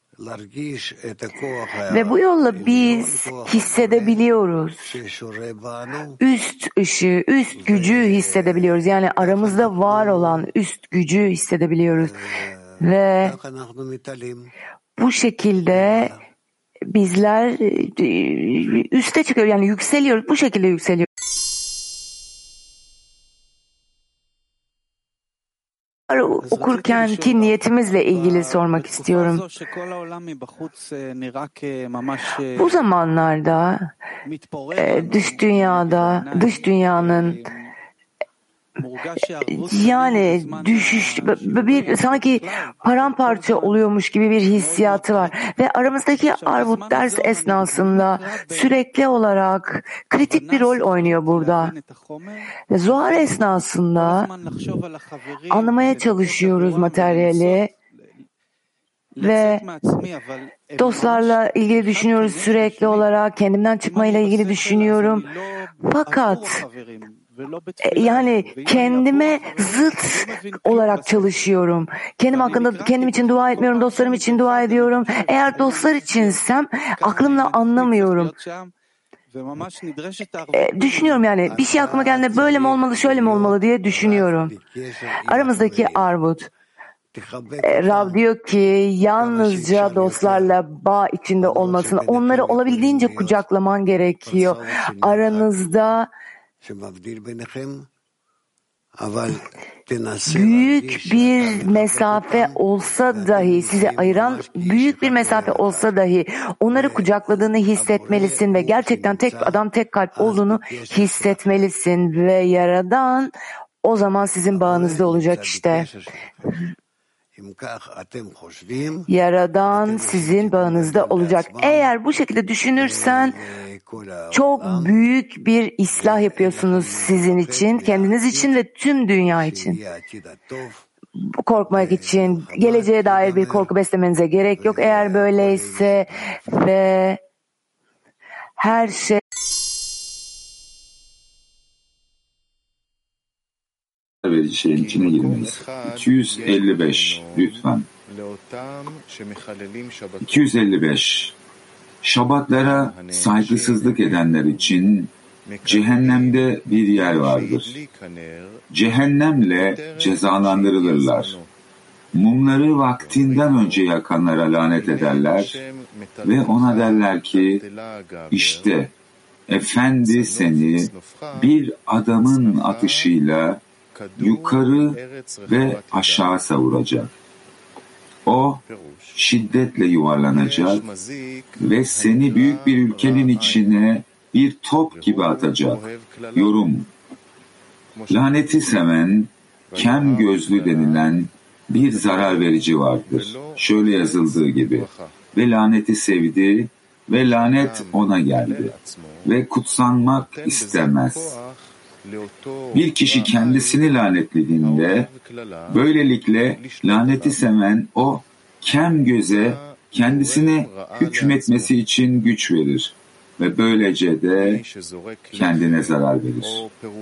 Ve bu yolla biz hissedebiliyoruz. Üst ışığı, üst gücü hissedebiliyoruz. Yani aramızda var olan üst gücü hissedebiliyoruz. Ve bu şekilde bizler üste çıkıyoruz. Yani yükseliyoruz. Bu şekilde yükseliyoruz. Okurken ki niyetimizle ilgili sormak istiyorum. Bu zamanlarda dış dünyada, dış dünyanın yani düşüş, bir sanki paramparça oluyormuş gibi bir hissiyatı var ve aramızdaki arvut ders esnasında sürekli olarak kritik bir rol oynuyor burada. Ve Zohar esnasında anlamaya çalışıyoruz materyali ve dostlarla ilgili düşünüyoruz sürekli olarak, kendimden çıkmayla ilgili düşünüyorum. Fakat Yani kendime zıt olarak çalışıyorum. Kendim hakkında kendim için dua etmiyorum, dostlarım için dua ediyorum. Eğer dostlar içinsem aklımla anlamıyorum. E, düşünüyorum yani bir şey aklıma geldiğinde böyle mi olmalı, şöyle mi olmalı diye düşünüyorum. Aramızdaki armut. E, Rab diyor ki yalnızca dostlarla bağ içinde olmasın. Onları olabildiğince kucaklaman gerekiyor. Aranızda büyük bir mesafe olsa dahi, sizi ayıran büyük bir mesafe olsa dahi onları kucakladığını hissetmelisin ve gerçekten tek adam tek kalp olduğunu hissetmelisin ve Yaradan o zaman sizin bağınızda olacak işte. Yaradan sizin bağınızda olacak. Eğer bu şekilde düşünürsen çok büyük bir ıslah yapıyorsunuz sizin için, kendiniz için ve tüm dünya için. Korkmak için, geleceğe dair bir korku beslemenize gerek yok. Eğer böyleyse ve her şey Evet, şeyin içine girmeyiz. iki yüz elli beş lütfen. iki yüz elli beş Şabatlara saygısızlık edenler için cehennemde bir yer vardır. Cehennemle cezalandırılırlar. Mumları vaktinden önce yakanlara lanet ederler ve ona derler ki işte Efendi seni bir adamın atışıyla yukarı ve aşağı savuracak. O şiddetle yuvarlanacak ve seni büyük bir ülkenin içine bir top gibi atacak. Yorum: laneti seven, kem gözlü denilen bir zarar verici vardır. Şöyle yazıldığı gibi: ve laneti sevdi ve lanet ona geldi ve kutsanmak istemez. Bir kişi kendisini lanetlediğinde böylelikle laneti seven o kem göze kendisine hükmetmesi için güç verir ve böylece de kendine zarar verir.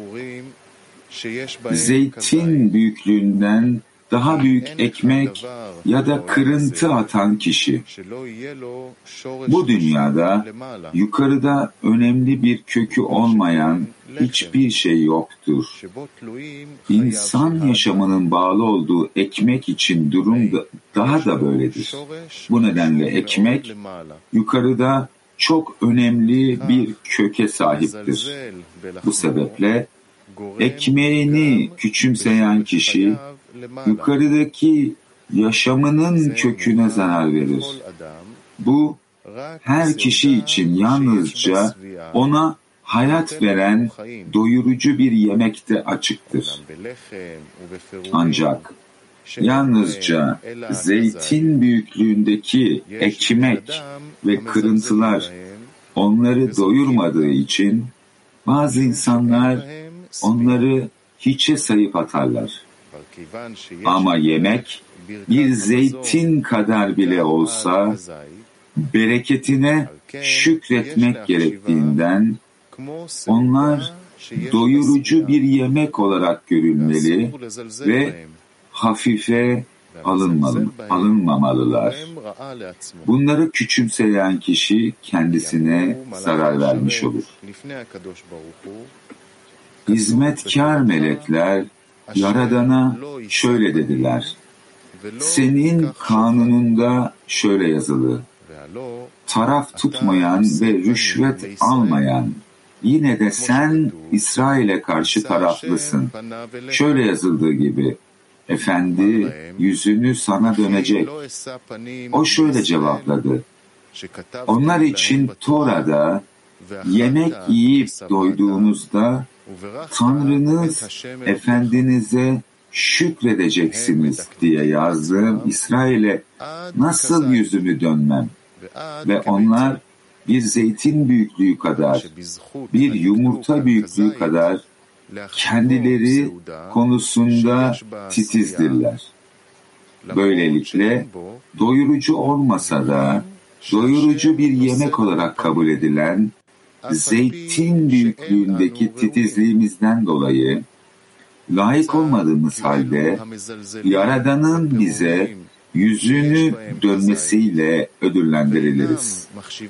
Zeytin büyüklüğünden daha büyük ekmek ya da kırıntı atan kişi. Bu dünyada yukarıda önemli bir kökü olmayan hiçbir şey yoktur. İnsan yaşamının bağlı olduğu ekmek için durum da daha da böyledir. Bu nedenle ekmek yukarıda çok önemli bir köke sahiptir. Bu sebeple ekmeğini küçümseyen kişi yukarıdaki yaşamının köküne zarar verir. Bu her kişi için yalnızca ona hayat veren doyurucu bir yemekte açıktır. Ancak yalnızca zeytin büyüklüğündeki ekmek ve kırıntılar onları doyurmadığı için bazı insanlar onları hiçe sayıp atarlar. Ama yemek bir zeytin kadar bile olsa bereketine şükretmek gerektiğinden onlar doyurucu bir yemek olarak görülmeli ve hafife alınmalı, alınmamalılar. Bunları küçümseyen kişi kendisine zarar vermiş olur. Hizmetkar melekler Yaradan'a şöyle dediler: senin kanununda şöyle yazılı: taraf tutmayan ve rüşvet almayan, yine de sen İsrail'e karşı taraflısın. Şöyle yazıldığı gibi: Efendi yüzünü sana dönecek. O şöyle cevapladı: onlar için Tora'da yemek yiyip doyduğunuzda Tanrınız Efendinize şükredeceksiniz diye yazdığım İsrail'e nasıl yüzümü dönmem? Ve onlar bir zeytin büyüklüğü kadar, bir yumurta büyüklüğü kadar kendileri konusunda titizdirler. Böylelikle doyurucu olmasa da doyurucu bir yemek olarak kabul edilen zeytin büyüklüğündeki titizliğimizden dolayı layık olmadığımız halde Yaradan'ın bize yüzünü dönmesiyle ödüllendiriliriz.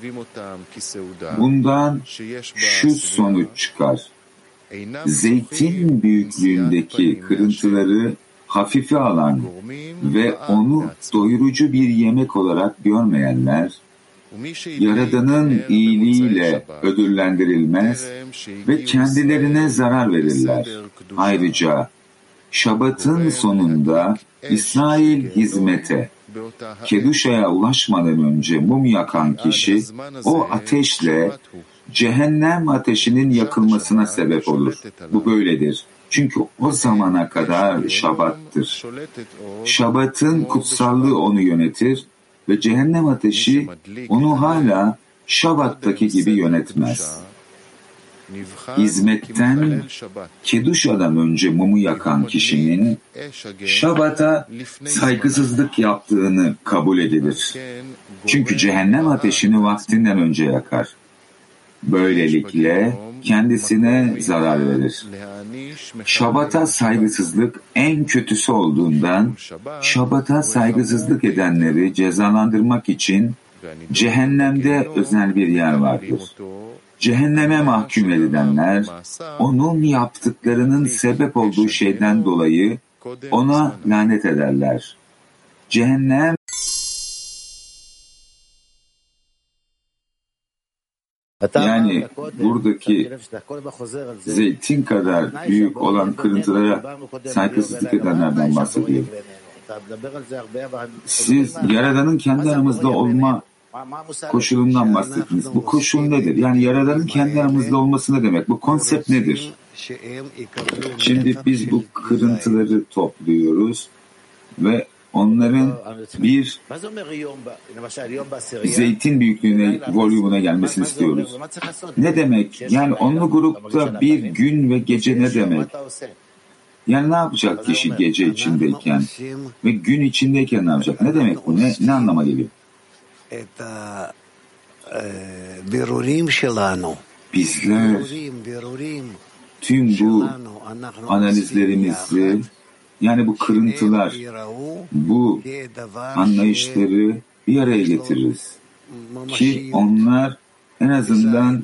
Bundan şu sonuç çıkar. Zeytin büyüklüğündeki kırıntıları hafife alan ve onu doyurucu bir yemek olarak görmeyenler, Yaradan'ın iyiliğiyle ödüllendirilmez ve kendilerine zarar verirler. Ayrıca Şabat'ın sonunda İsrail hizmete, Keduşa'ya ulaşmadan önce mum yakan kişi o ateşle cehennem ateşinin yakılmasına sebep olur. Bu böyledir. Çünkü o zamana kadar Şabat'tır. Şabat'ın kutsallığı onu yönetir ve cehennem ateşi onu hala Şabat'taki gibi yönetmez. Hizmetten Keduşa'dan önce mumu yakan kişinin Şabat'a saygısızlık yaptığını kabul edilir. Çünkü cehennem ateşini vaktinden önce yakar. Böylelikle kendisine zarar verir. Şabat'a saygısızlık en kötüsü olduğundan Şabat'a saygısızlık edenleri cezalandırmak için cehennemde özel bir yer vardır. Cehenneme mahkum edilenler onun yaptıklarının sebep olduğu şeyden dolayı ona lanet ederler. Cehennem yani buradaki zeytin kadar büyük olan kırıntılara saygısızlık edenlerden bahsediyor. Siz Yaradan'ın kendi aramızda olma koşulundan bahsettiniz. Bu koşul nedir? Yani Yaradan'ın kendi aramızda olması ne demek? Bu konsept nedir? Şimdi biz bu kırıntıları topluyoruz ve onların bir zeytin büyüklüğüne, volümüne gelmesini istiyoruz. Ne demek? Yani onlu grupta bir gün ve gece ne demek? Yani ne yapacak kişi gece içindeyken ve gün içindeyken ne yapacak? Ne demek bu? Ne, ne anlama geliyor? Bizler tüm bu analizlerimizi, yani bu kırıntılar, bu anlayışları bir araya getiririz. Ki onlar en azından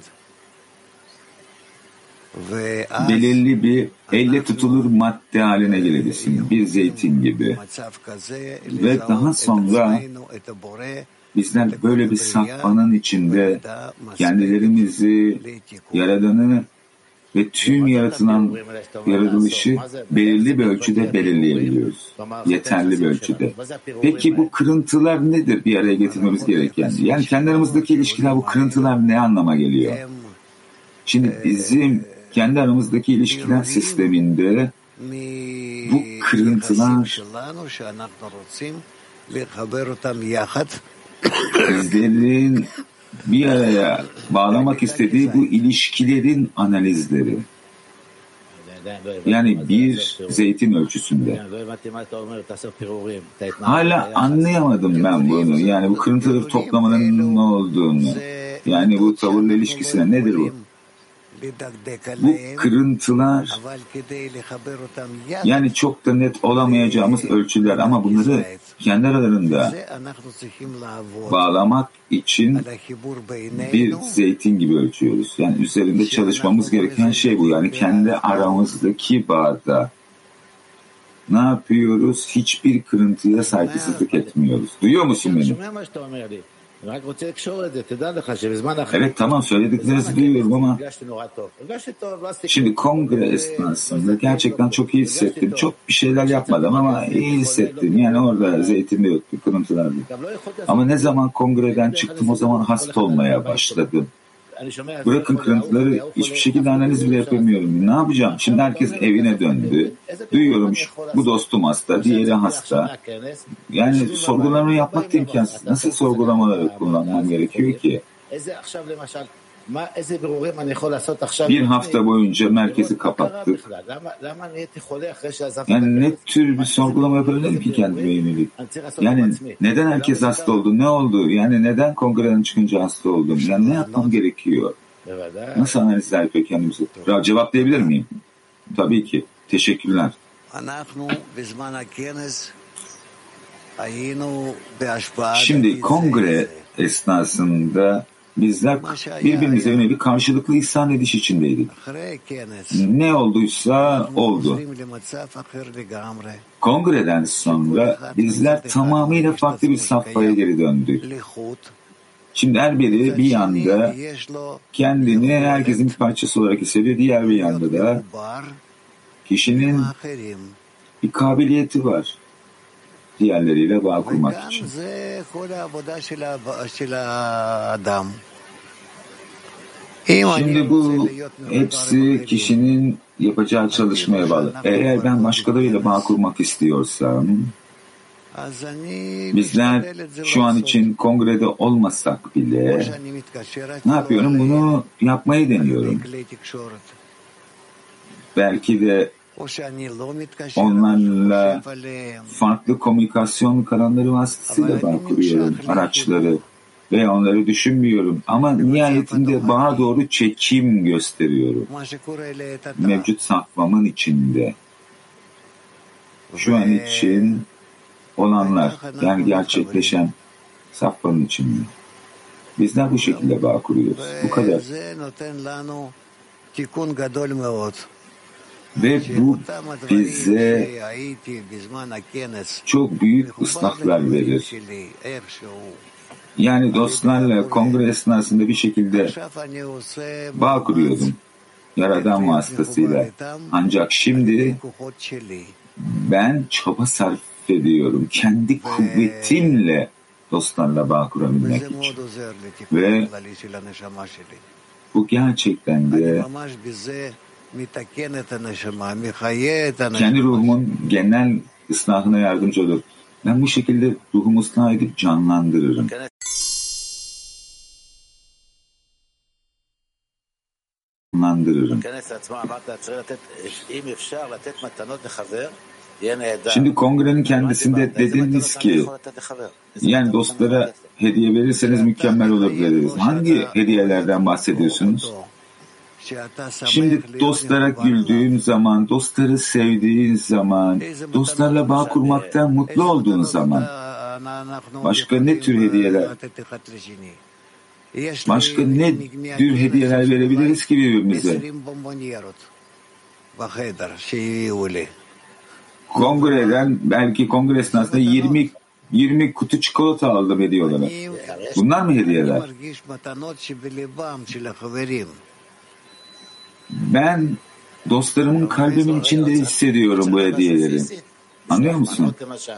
belirli bir elle tutulur madde haline gelebilsin. Bir zeytin gibi. Ve daha sonra bizler böyle bir safhanın içinde kendilerimizi, Yaradan'ı ve tüm yaratılan yaratılışı belirli bir ölçüde belirleyebiliyoruz. Yeterli bir ölçüde. Peki bu kırıntılar nedir bir araya getirmemiz gereken? Yani kendi aramızdaki ilişkiler, bu kırıntılar ne anlama geliyor? Şimdi bizim kendi aramızdaki ilişkiler sisteminde bu kırıntılar bizlerin bir araya bağlamak istediği bu ilişkilerin analizleri. Yani bir zeytin ölçüsünde. Hala anlayamadım ben bunu. Yani bu kırıntıları toplamanın ne olduğunu. Yani bu tavırla ilişkisine nedir bu? Bu kırıntılar yani çok da net olamayacağımız ölçüler ama bunları kendi aralarında bağlamak için bir zeytin gibi ölçüyoruz. Yani üzerinde çalışmamız gereken şey bu. Yani kendi aramızdaki bağda ne yapıyoruz? Hiçbir kırıntıya saygısızlık etmiyoruz. Duyuyor musun beni? Evet, tamam, söylediklerinizi duyuyorum ama şimdi kongre esnasında gerçekten çok iyi hissettim. Çok bir şeyler yapmadım ama iyi hissettim. Yani orada zeytin de yoktu, kırıntılardı. Ama ne zaman kongreden çıktım o zaman hasta olmaya başladım. Bırakın kırıntıları, hiçbir şekilde analiz bile yapamıyorum. Ne yapacağım? Şimdi herkes evine döndü. Duyuyorum bu dostum hasta, diğeri hasta. Yani sorgulama yapmak da imkansız. Nasıl sorgulamaları kullanmam gerekiyor ki? Bir hafta boyunca merkezi kapattık. Yani ne tür bir sorgulama yapabilirim ki kendime yönelik? Yani neden herkes hasta oldu? Ne oldu? Yani neden kongreden çıkınca hasta oldum? Yani ne yapmam gerekiyor? Nasıl analizler yapıyor kendimizi? Ya, cevaplayabilir miyim? Tabii ki. Teşekkürler. Şimdi kongre esnasında bizler birbirimize yönelik karşılıklı ihsan ediş içindeydik. Ne olduysa oldu. Kongreden sonra bizler tamamıyla farklı bir safhaya geri döndük. Şimdi her biri bir yanda kendini herkesin bir parçası olarak hissediyor, diğer bir yanda da kişinin bir kabiliyeti var diğerleriyle bağ kurmak için. Şimdi bu hepsi kişinin yapacağı çalışmaya bağlı. Eğer ben başkalarıyla bağ kurmak istiyorsam, bizler şu an için kongrede olmasak bile ne yapıyorum? Bunu yapmayı deniyorum. Belki de onlarla farklı komünikasyon kanalları vasıtasıyla bağ kuruyorum, araçları veya onları düşünmüyorum. Ama nihayetinde bağa doğru çekim gösteriyorum. Mevcut safhamın içinde. Şu an için olanlar, yani gerçekleşen safhanın içinde. Bizler bu şekilde bağ kuruyoruz. Bu kadar. Ve bu bize çok büyük ıslahlar verir. Yani dostlarla kongre esnasında bir şekilde bağ kuruyordum. Yaradan vasıtasıyla. Ancak şimdi ben çaba sarf ediyorum. Kendi kuvvetimle dostlarla bağ kurabilmek için. Ve bu gerçekten de kendi ruhumun genel ıslahına yardımcı olur. Ben bu şekilde ruhumu ıslah edip canlandırırım. Canlandırırım. Şimdi kongrenin kendisinde dediniz ki, yani dostlara hediye verirseniz mükemmel olur dediniz. Hangi hediyelerden bahsediyorsunuz? Şimdi dostlara güldüğün zaman, dostları sevdiğin zaman, dostlarla bağ kurmaktan mutlu olduğun zaman, başka ne tür hediyeler, başka ne tür hediyeler verebiliriz ki birbirimize? Kongreden, belki kongre esnasında yirmi yirmi kutu çikolata aldım hediye olarak. Bunlar mı hediyeler? Ben dostlarımın kalbimin içinde hissediyorum bu hediyeleri. Anlıyor musun?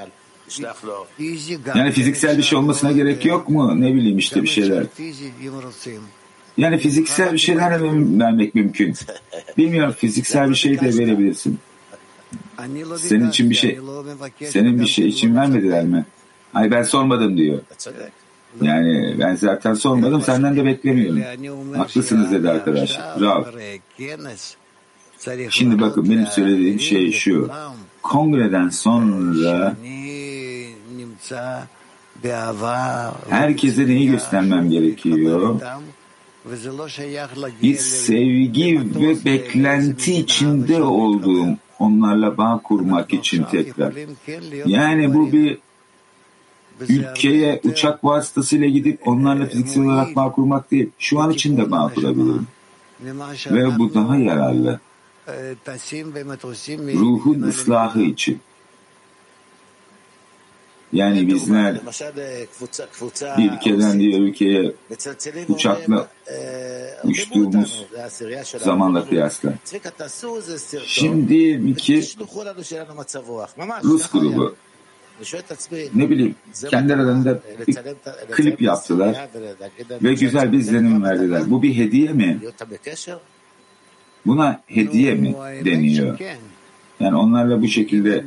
Yani fiziksel bir şey olmasına gerek yok mu? Ne bileyim işte bir şeyler. Yani fiziksel bir şeyler vermek mümkün. Bilmiyorum, fiziksel bir şey de verebilirsin. Senin için bir şey, senin bir şey için vermediler mi? Ay ben sormadım diyor. Yani ben zaten sormadım, senden de beklemiyorum. Haklısınız dedi arkadaş. Rav. Şimdi bakın benim söylediğim şey şu. Kongreden sonra herkese neyi göstermem gerekiyor? Bir sevgi ve beklenti içinde olduğum, onlarla bağ kurmak için tekrar. Yani bu bir ülkeye uçak vasıtasıyla gidip onlarla fiziksel olarak bağ kurmak değil. Şu an için de bağ kurabilirim. Ve bu daha yararlı. Ruhun ıslahı için. Yani bizler bir ülkeden diğer ülkeye uçakla uçtuğumuz zamanla kıyasla. Şimdi iki Rus grubu, ne bileyim, kendi aralarında bir klip yaptılar ve güzel bir izlenim verdiler. Bu bir hediye mi? Buna hediye mi deniyor? Yani onlarla bu şekilde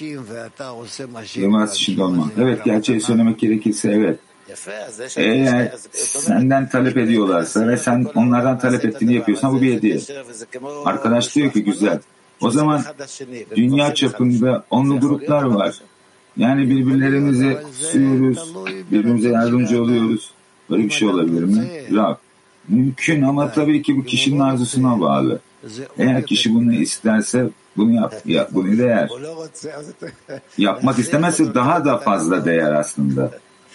temas içinde olmak. Evet, gerçeği söylemek gerekirse evet. Eğer senden talep ediyorlarsa ve sen onlardan talep ettiğini yapıyorsan bu bir hediye. Arkadaş diyor ki güzel. O zaman dünya çapında onlu gruplar var. Yani birbirlerimize kutsuyoruz, birbirimize yardımcı oluyoruz. Böyle bir şey olabilir mi? Rav. Mümkün ama tabii ki bu kişinin arzusuna bağlı. Eğer kişi bunu isterse bunu yap, yap bunu değer. Yapmak istemezse daha da fazla değer aslında.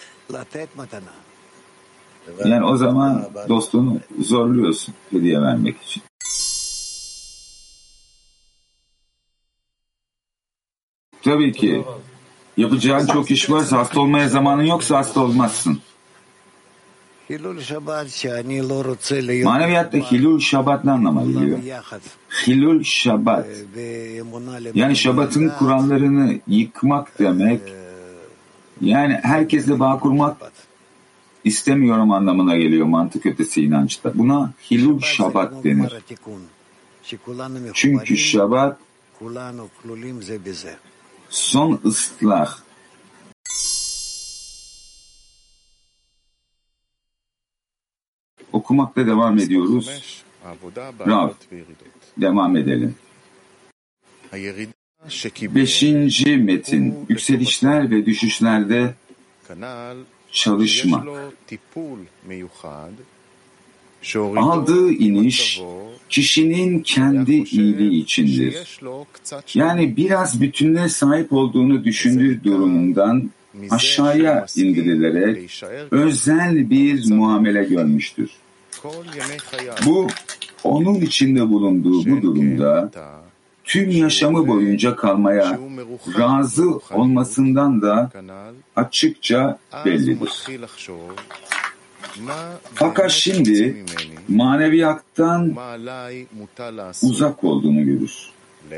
Yani o zaman dostunu zorluyorsun hediye vermek için. Tabii ki yapacağın çok iş varsa, hasta olmaya zamanın yoksa hasta olmazsın. Maneviyatta Hilul Şabat ne anlama geliyor? Hilul Şabat. Yani Şabat'ın kurallarını yıkmak demek. Yani herkesle bağ kurmak istemiyorum anlamına geliyor mantık ötesi inançta. Buna Hilul Şabat denir. Çünkü Şabat son ıslah. Okumakta devam ediyoruz. Rav, devam edelim. Beşinci metin, yükselişler ve düşüşlerde çalışma. Aldığı iniş, kişinin kendi iyiliği içindir. Yani biraz bütünlüğe sahip olduğunu düşündüğü durumundan aşağıya indirilerek özel bir muamele görmüştür. Bu, onun içinde bulunduğu bu durumda tüm yaşamı boyunca kalmaya razı olmasından da açıkça bellidir. Fakat şimdi maneviyattan uzak olduğunu görür.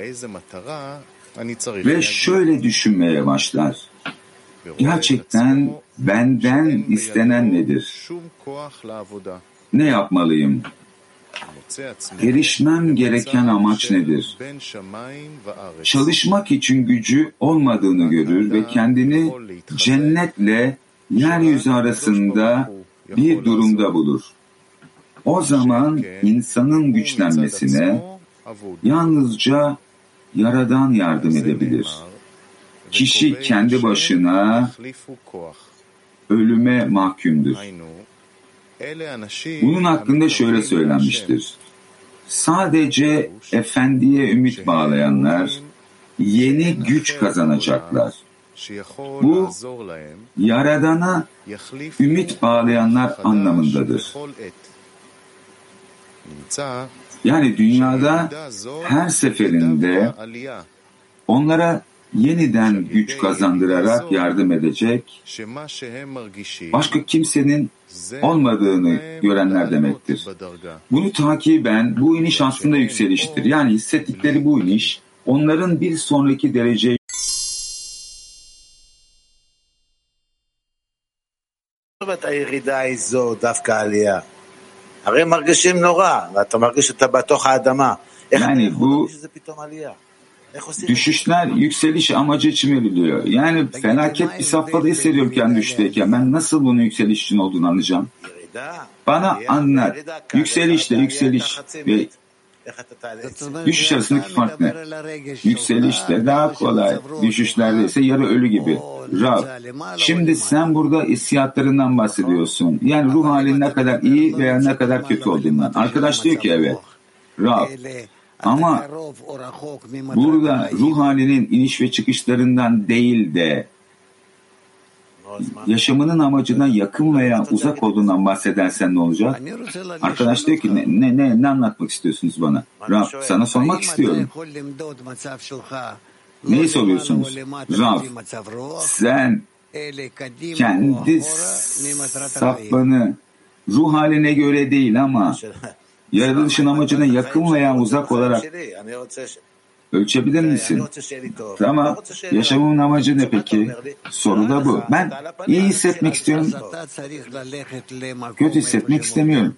Ve şöyle düşünmeye başlar. Gerçekten benden istenen nedir? Ne yapmalıyım? Erişmem gereken amaç nedir? Çalışmak için gücü olmadığını görür ve kendini cennetle yeryüzü arasında bir durumda bulur. O zaman insanın güçlenmesine yalnızca Yaradan yardım edebilir. Kişi kendi başına ölüme mahkumdur. Bunun hakkında şöyle söylenmiştir. Sadece Efendi'ye ümit bağlayanlar yeni güç kazanacaklar. Bu, Yaradan'a ümit bağlayanlar anlamındadır. Yani dünyada her seferinde onlara yeniden güç kazandırarak yardım edecek başka kimsenin olmadığını görenler demektir. Bunu takiben bu iniş aslında yükseliştir. Yani hissettikleri bu iniş onların bir sonraki dereceye yani bu düşüşler yükseliş amacı için veriliyor. Yani felaket bir safhada hissediyorum kendi düşteyken. Ben nasıl bunun yükseliş için olduğunu anlayacağım? Bana anlat. Yükselişle yükseliş ve düşüş arasındaki fark ne? Yükselişte daha kolay. Düşüşlerde ise yarı ölü gibi. Rav, şimdi sen burada hissiyatlarından bahsediyorsun. Yani ruh halin ne kadar iyi veya ne kadar kötü olduğundan. Arkadaş diyor ki evet. Rav, ama burada ruh halinin iniş ve çıkışlarından değil de yaşamının amacına yakın veya uzak olduğundan bahsedersen ne olacak? Arkadaş diyor ki ne ne ne, ne anlatmak istiyorsunuz bana? Rab, sana sormak istiyorum. Neyi soruyorsunuz? Rab, sen kendi safhanı ruh haline göre değil ama yaratılışın amacına yakın veya uzak olarak ölçebilir misin? Tamam. Yaşamımın amacı ne peki? Soru da bu. Ben iyi hissetmek istiyorum. Kötü hissetmek istemiyorum.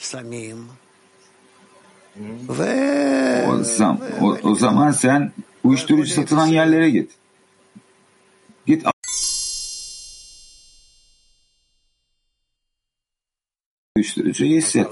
O zaman, o, o zaman sen uyuşturucu satılan yerlere git. Git. Uyuşturucuyu hisset.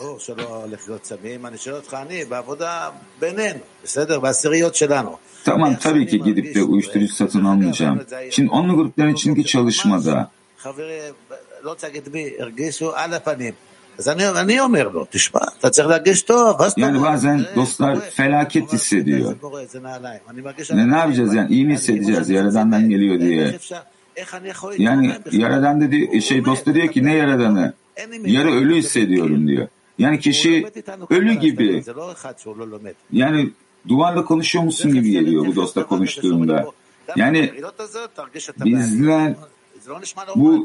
Tamam, tabii ki gidip de uyuşturucu satın almayacağım. Şimdi onlu grupların içindeki çalışmada Yani bazen dostlar felaket hissediyor. Ne, ne yapacağız yani? İyi mi hissedeceğiz? Yaradan'dan geliyor diye. Yani Yaradan dedi, şey dost da diyor ki ne Yaradan'ı? Yarı ölü hissediyorum diyor. Yani kişi ölü gibi. Yani duvarla konuşuyor musun gibi geliyor bu dostla konuştuğunda. Yani bizler bu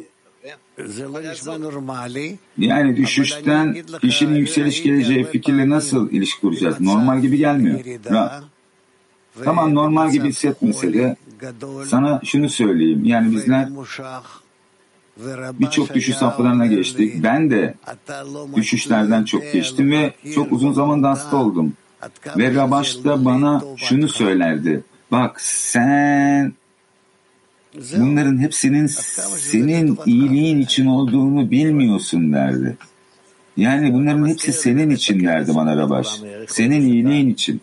yani düşüşten kişinin yükseliş geleceği fikirle nasıl ilişki kuracağız? Normal gibi gelmiyor. Ra. Tamam normal gibi hissetmese de sana şunu söyleyeyim. Yani bizler birçok düşüş safhalarına geçtik. Ben de düşüşlerden çok geçtim ve çok uzun zamanda hasta oldum. Ve Rabaş da bana şunu söylerdi. Bak sen bunların hepsinin senin iyiliğin için olduğunu bilmiyorsun derdi. Yani bunların hepsi senin için derdi bana Rabaş. Senin iyiliğin için.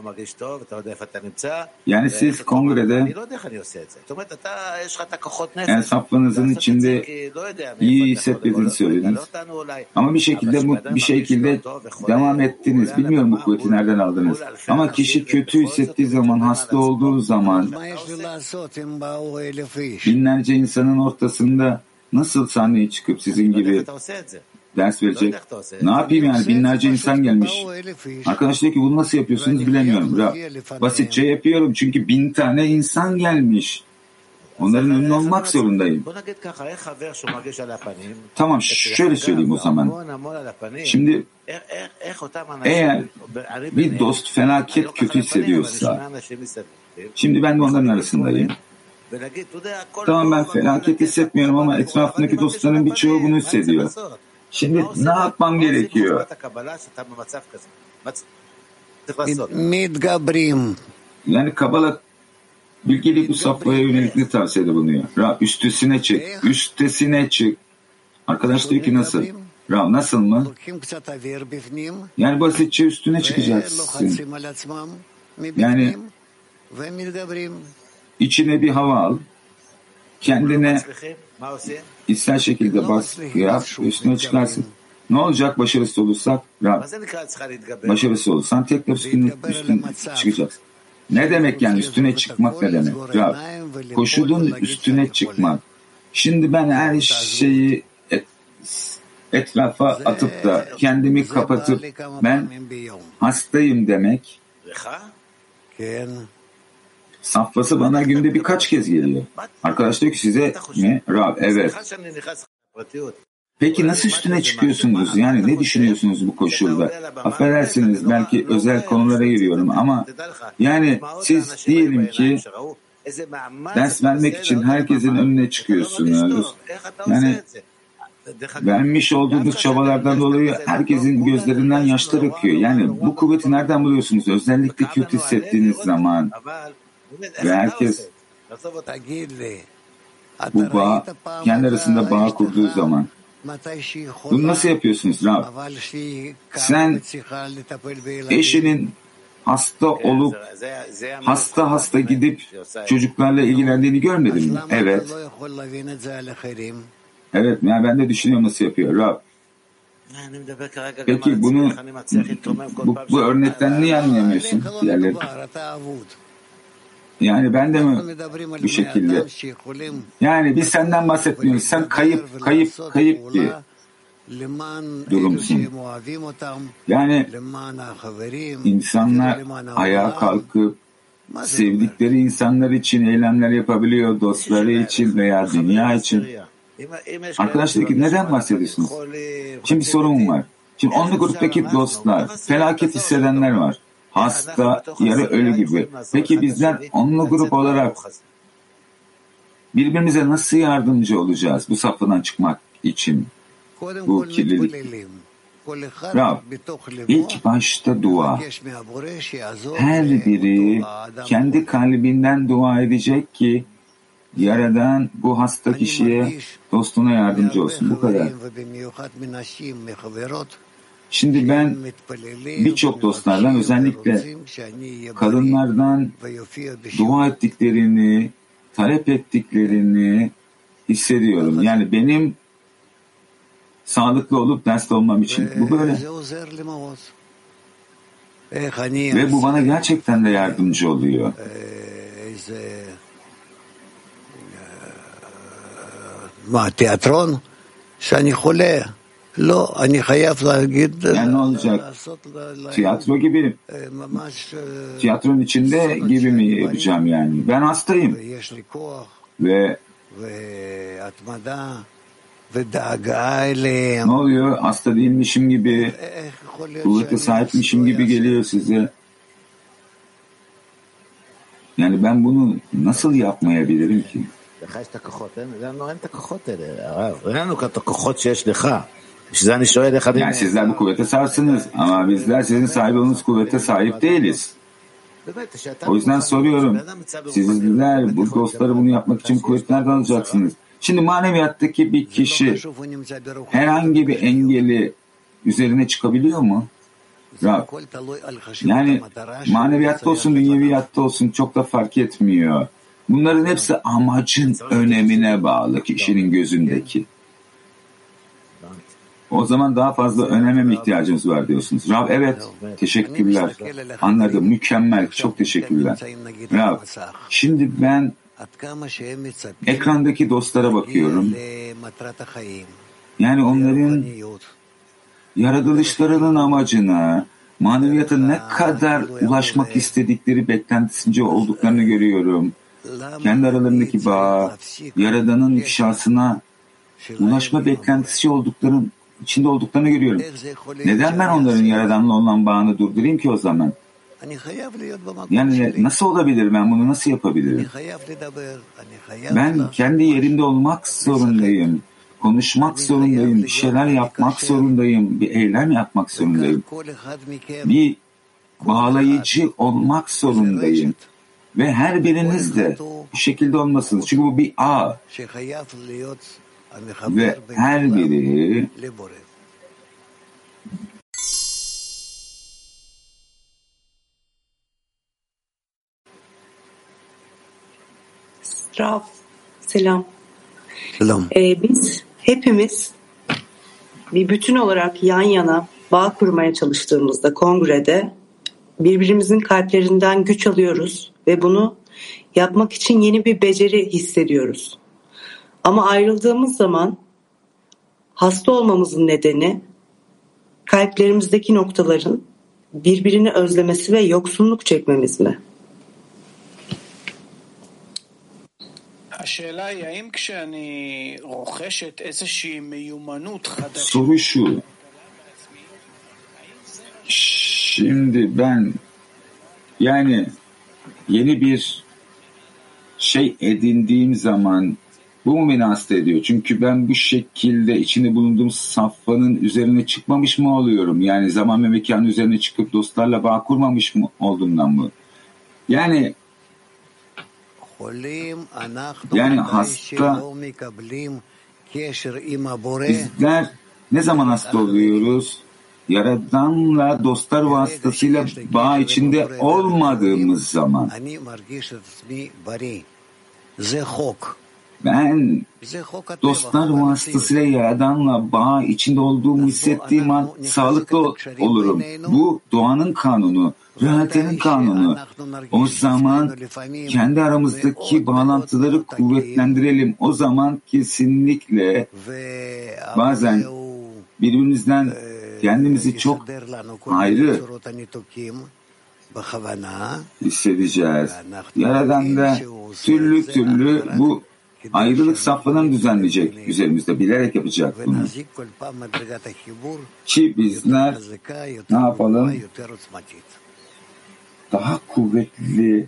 Yani siz kongrede yani saflarınızın içinde iyi hissetmediğini söylediniz. Ama bir şekilde bu, bir şekilde devam ettiniz. Bilmiyorum bu kuvveti nereden aldınız. Ama kişi kötü hissettiği zaman, hasta olduğu zaman binlerce insanın ortasında nasıl sahneye çıkıp sizin gibi ders verecek? Ne yapayım yani? Binlerce insan gelmiş. Arkadaş diyor ki bunu nasıl yapıyorsunuz bilemiyorum. Ra. Basitçe yapıyorum çünkü bin tane insan gelmiş. Onların önüne olmak zorundayım. Tamam şöyle söyleyeyim o zaman. Şimdi eğer bir dost felaket kötü hissediyorsa, şimdi ben de onların arasındayım. Tamam ben felaket hissetmiyorum ama etrafındaki dostların birçoğu bunu hissediyor. Şimdi ne yapmam gerekiyor? Yani Kabala bilgili bu safhaya yönelik ne tavsiyede bulunuyor? Rab üstesine çık, üstesine çık. Arkadaş diyor ki nasıl? Rab nasıl mı? Yani basitçe üstüne çıkacaksın. Yani içine bir hava al. Kendine İster şekilde bas, yap, üstüne çıkarsın. Ne olacak başarısız olursak? Rab, başarısız olursan tekrar üstüne, üstüne çıkacaksın. Ne demek yani üstüne çıkmak ne demek? Rab, koşulun üstüne çıkmak. Şimdi ben her şeyi et, etrafa atıp da kendimi kapatıp ben hastayım demek. Safhası bana günde birkaç kez geliyor. Arkadaş diyor ki size ne? Rab, evet. Peki nasıl üstüne çıkıyorsunuz? Yani ne düşünüyorsunuz bu koşulda? Affedersiniz belki özel konulara giriyorum ama yani siz diyelim ki ders vermek için herkesin önüne çıkıyorsunuz. Yani vermiş olduğunuz çabalardan dolayı herkesin gözlerinden yaşlar akıyor. Yani bu kuvveti nereden buluyorsunuz? Özellikle kötü hissettiğiniz zaman. Ve herkes bu bağ, kendi arasında bağ kurduğu zaman. Bunu nasıl yapıyorsunuz Rab? Sen eşinin hasta olup hasta hasta gidip çocuklarla ilgilendiğini görmedin mi? Evet. Evet, yani ben de düşünüyorum nasıl yapıyor Rab. Peki bunu bu, bu örnekten niye anlayamıyorsun diğerleri? Yani ben de mi bu şekilde? Yani biz senden bahsetmiyoruz. Sen kayıp, kayıp, kayıp bir durumsun. Yani insanlar ayağa kalkıp sevdikleri insanlar için eylemler yapabiliyor, dostları için veya dünya için. Arkadaşlar neden bahsediyorsunuz? Şimdi bir sorun var. Şimdi onlu gruptaki dostlar, felaket hissedenler var. Hasta, yarı ölü gibi. Peki bizler onlu grup olarak birbirimize nasıl yardımcı olacağız bu safhadan çıkmak için? Bu kirlilik. Rab, ilk başta dua. Her biri kendi kalbinden dua edecek ki Yaradan bu hasta kişiye, dostuna yardımcı olsun. Bu kadar. Şimdi ben birçok dostlardan, özellikle kadınlardan dua ettiklerini, talep ettiklerini hissediyorum. Yani benim sağlıklı olup derste olmam için. Bu böyle. Ve bu bana gerçekten de yardımcı oluyor. Tiyatron, שאני חולה. לא, אני חייב להגיד... Yani ne olacak? Tiyatro gibi. Tiyatronun içinde gibi mi yapacağım yani? Ben hastayım. Ve ne oluyor? Hasta değilmişim gibi, kuvvete sahipmişim gibi geliyor size. Yani ben bunu nasıl yapmayabilirim ki? Yani sizler bu kuvvete sahipsiniz ama bizler sizin sahip olduğunuz kuvvete sahip değiliz. O yüzden soruyorum, sizler bu dostları bunu yapmak için kuvvet nereden alacaksınız? Şimdi maneviyattaki bir kişi herhangi bir engeli üzerine çıkabiliyor mu? Rab. Yani maneviyatta olsun, dünyeviyatta olsun çok da fark etmiyor. Bunların hepsi amacın önemine bağlı kişinin gözündeki. O zaman daha fazla öneme mi ihtiyacımız var diyorsunuz? Rab, evet, teşekkürler. Anladım, mükemmel, çok teşekkürler. Rab, şimdi ben ekrandaki dostlara bakıyorum. Yani onların yaratılışlarının amacına, maneviyata ne kadar ulaşmak istedikleri beklentisince olduklarını görüyorum. Kendi aralarındaki bağ, Yaradan'ın ifşasına ulaşma beklentisi olduklarının içinde olduklarını görüyorum. Neden ben onların Yaradan'la olan bağını durdurayım ki o zaman? Yani nasıl olabilir, ben bunu nasıl yapabilirim? Ben kendi yerimde olmak zorundayım. Konuşmak zorundayım. Bir şeyler yapmak zorundayım. Bir eylem yapmak zorundayım. Bir bağlayıcı olmak zorundayım. Ve her biriniz de bu şekilde olmasınız. Çünkü bu bir ağ. Ve her biri Rav, selam. Selam. Ee, biz hepimiz bir bütün olarak yan yana bağ kurmaya çalıştığımızda kongrede birbirimizin kalplerinden güç alıyoruz ve bunu yapmak için yeni bir beceri hissediyoruz. Ama ayrıldığımız zaman hasta olmamızın nedeni kalplerimizdeki noktaların birbirini özlemesi ve yoksunluk çekmemiz mi? Soru şu. Şimdi ben yani yeni bir şey edindiğim zaman bu mu beni hasta ediyor? Çünkü ben bu şekilde içinde bulunduğum safhanın üzerine çıkmamış mı oluyorum? Yani zaman ve mekanın üzerine çıkıp dostlarla bağ kurmamış mı olduğumdan mı? Yani yani hasta, bizler ne zaman hasta oluyoruz? Yaradan'la dostlar vasıtasıyla bağ içinde olmadığımız zaman. Ben dostlar vasıtasıyla Yaradan'la bağ içinde olduğumu hissettiğim an sağlıklı olurum. Bu doğanın kanunu, realitenin kanunu. O zaman kendi aramızdaki bağlantıları kuvvetlendirelim. O zaman kesinlikle bazen birbirimizden kendimizi çok ayrı hissedeceğiz. Yaradan da türlü türlü bu ayrılık safhalarını düzenleyecek üzerimizde, bilerek yapacak bunu. Ki bizler ne yapalım? Daha kuvvetli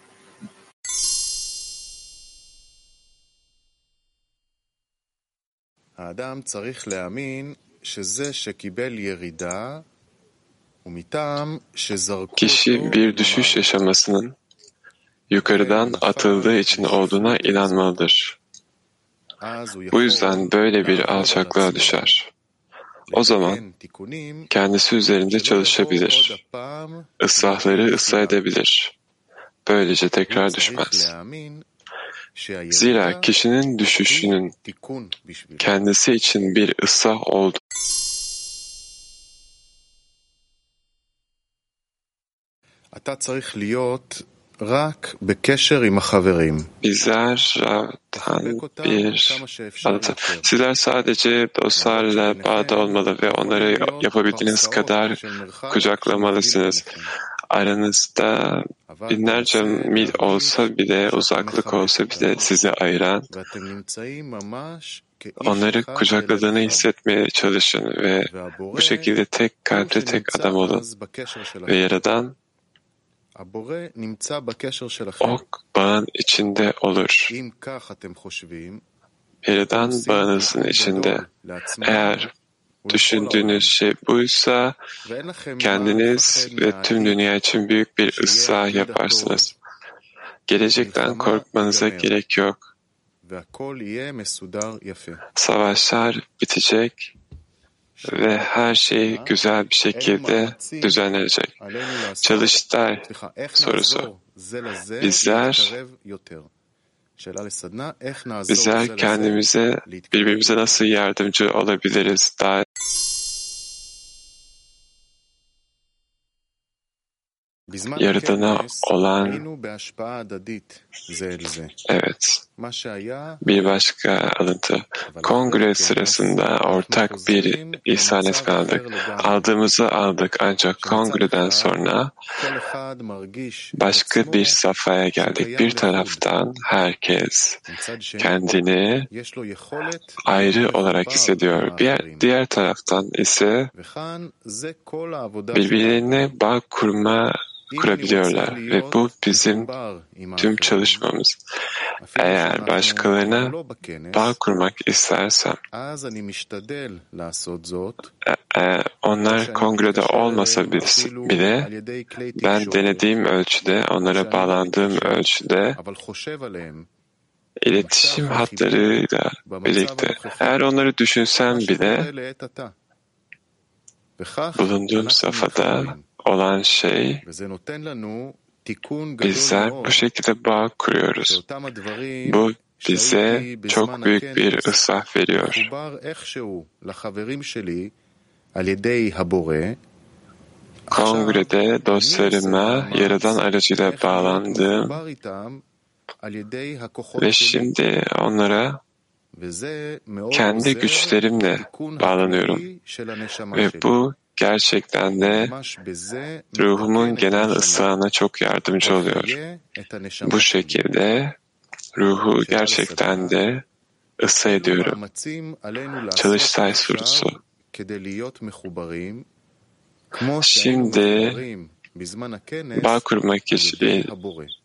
האדם צריך להאמין שזה שקיבל ירידה ומטעם שזרקו Kişi bir düşüş yaşamasının yukarıdan atıldığı için olduğuna inanmalıdır. Bu yüzden böyle bir alçaklığa düşer. O zaman kendisi üzerinde çalışabilir. Islahları ıslah edebilir. Böylece tekrar düşmez. Zira kişinin düşüşünün kendisi için bir ıslah oldu. Bizler Rab'dan bir anlatı. Sizler sadece dostlarla bağda olmalı ve onları yapabildiğiniz kadar kucaklamalısınız. Aranızda binlerce mil olsa bile, uzaklık olsa bile sizi ayıran, onları kucakladığını hissetmeye çalışın ve bu şekilde tek kalpli tek adam olun. Ve Yaradan o bağın içinde olur. Yaradan bağınızın içinde. Eğer düşündüğünüz şey buysa, kendiniz ve tüm dünya için büyük bir ıslah yaparsınız. Gelecekten korkmanıza gerek yok. Savaşlar bitecek ve her şey güzel bir şekilde düzenlenecek. Çalıştay sorusu. Bizler bizler kendimize, birbirimize nasıl yardımcı olabiliriz? Daha Yaradana olan, evet, bir başka alıntı. Kongre sırasında ortak bir ihsan etme aldık. Aldığımızı aldık ancak kongreden sonra başka bir safhaya geldik. Bir taraftan herkes kendini ayrı olarak hissediyor. Bir diğer taraftan ise birbirine bağ kurma kurabiliyorlar ve bu bizim tüm çalışmamız. Eğer başkalarına bağ kurmak istersem, e, onlar kongrede olmasa bile ben denediğim ölçüde, onlara bağlandığım ölçüde iletişim hatlarıyla birlikte, eğer onları düşünsem bile bulunduğum safhada olan şey, bizler bu şekilde bağ kuruyoruz. Bu bize çok büyük bir ıslah veriyor. Kongrede dostlarıma Yaradan aracıyla bağlandığım ve şimdi onlara kendi güçlerimle bağlanıyorum. Ve bu gerçekten de ruhumun genel ıslahına çok yardımcı oluyor. Bu şekilde ruhu gerçekten de ıslah ediyorum. Çalıştay sorusu. Şimdi bağ kurmak için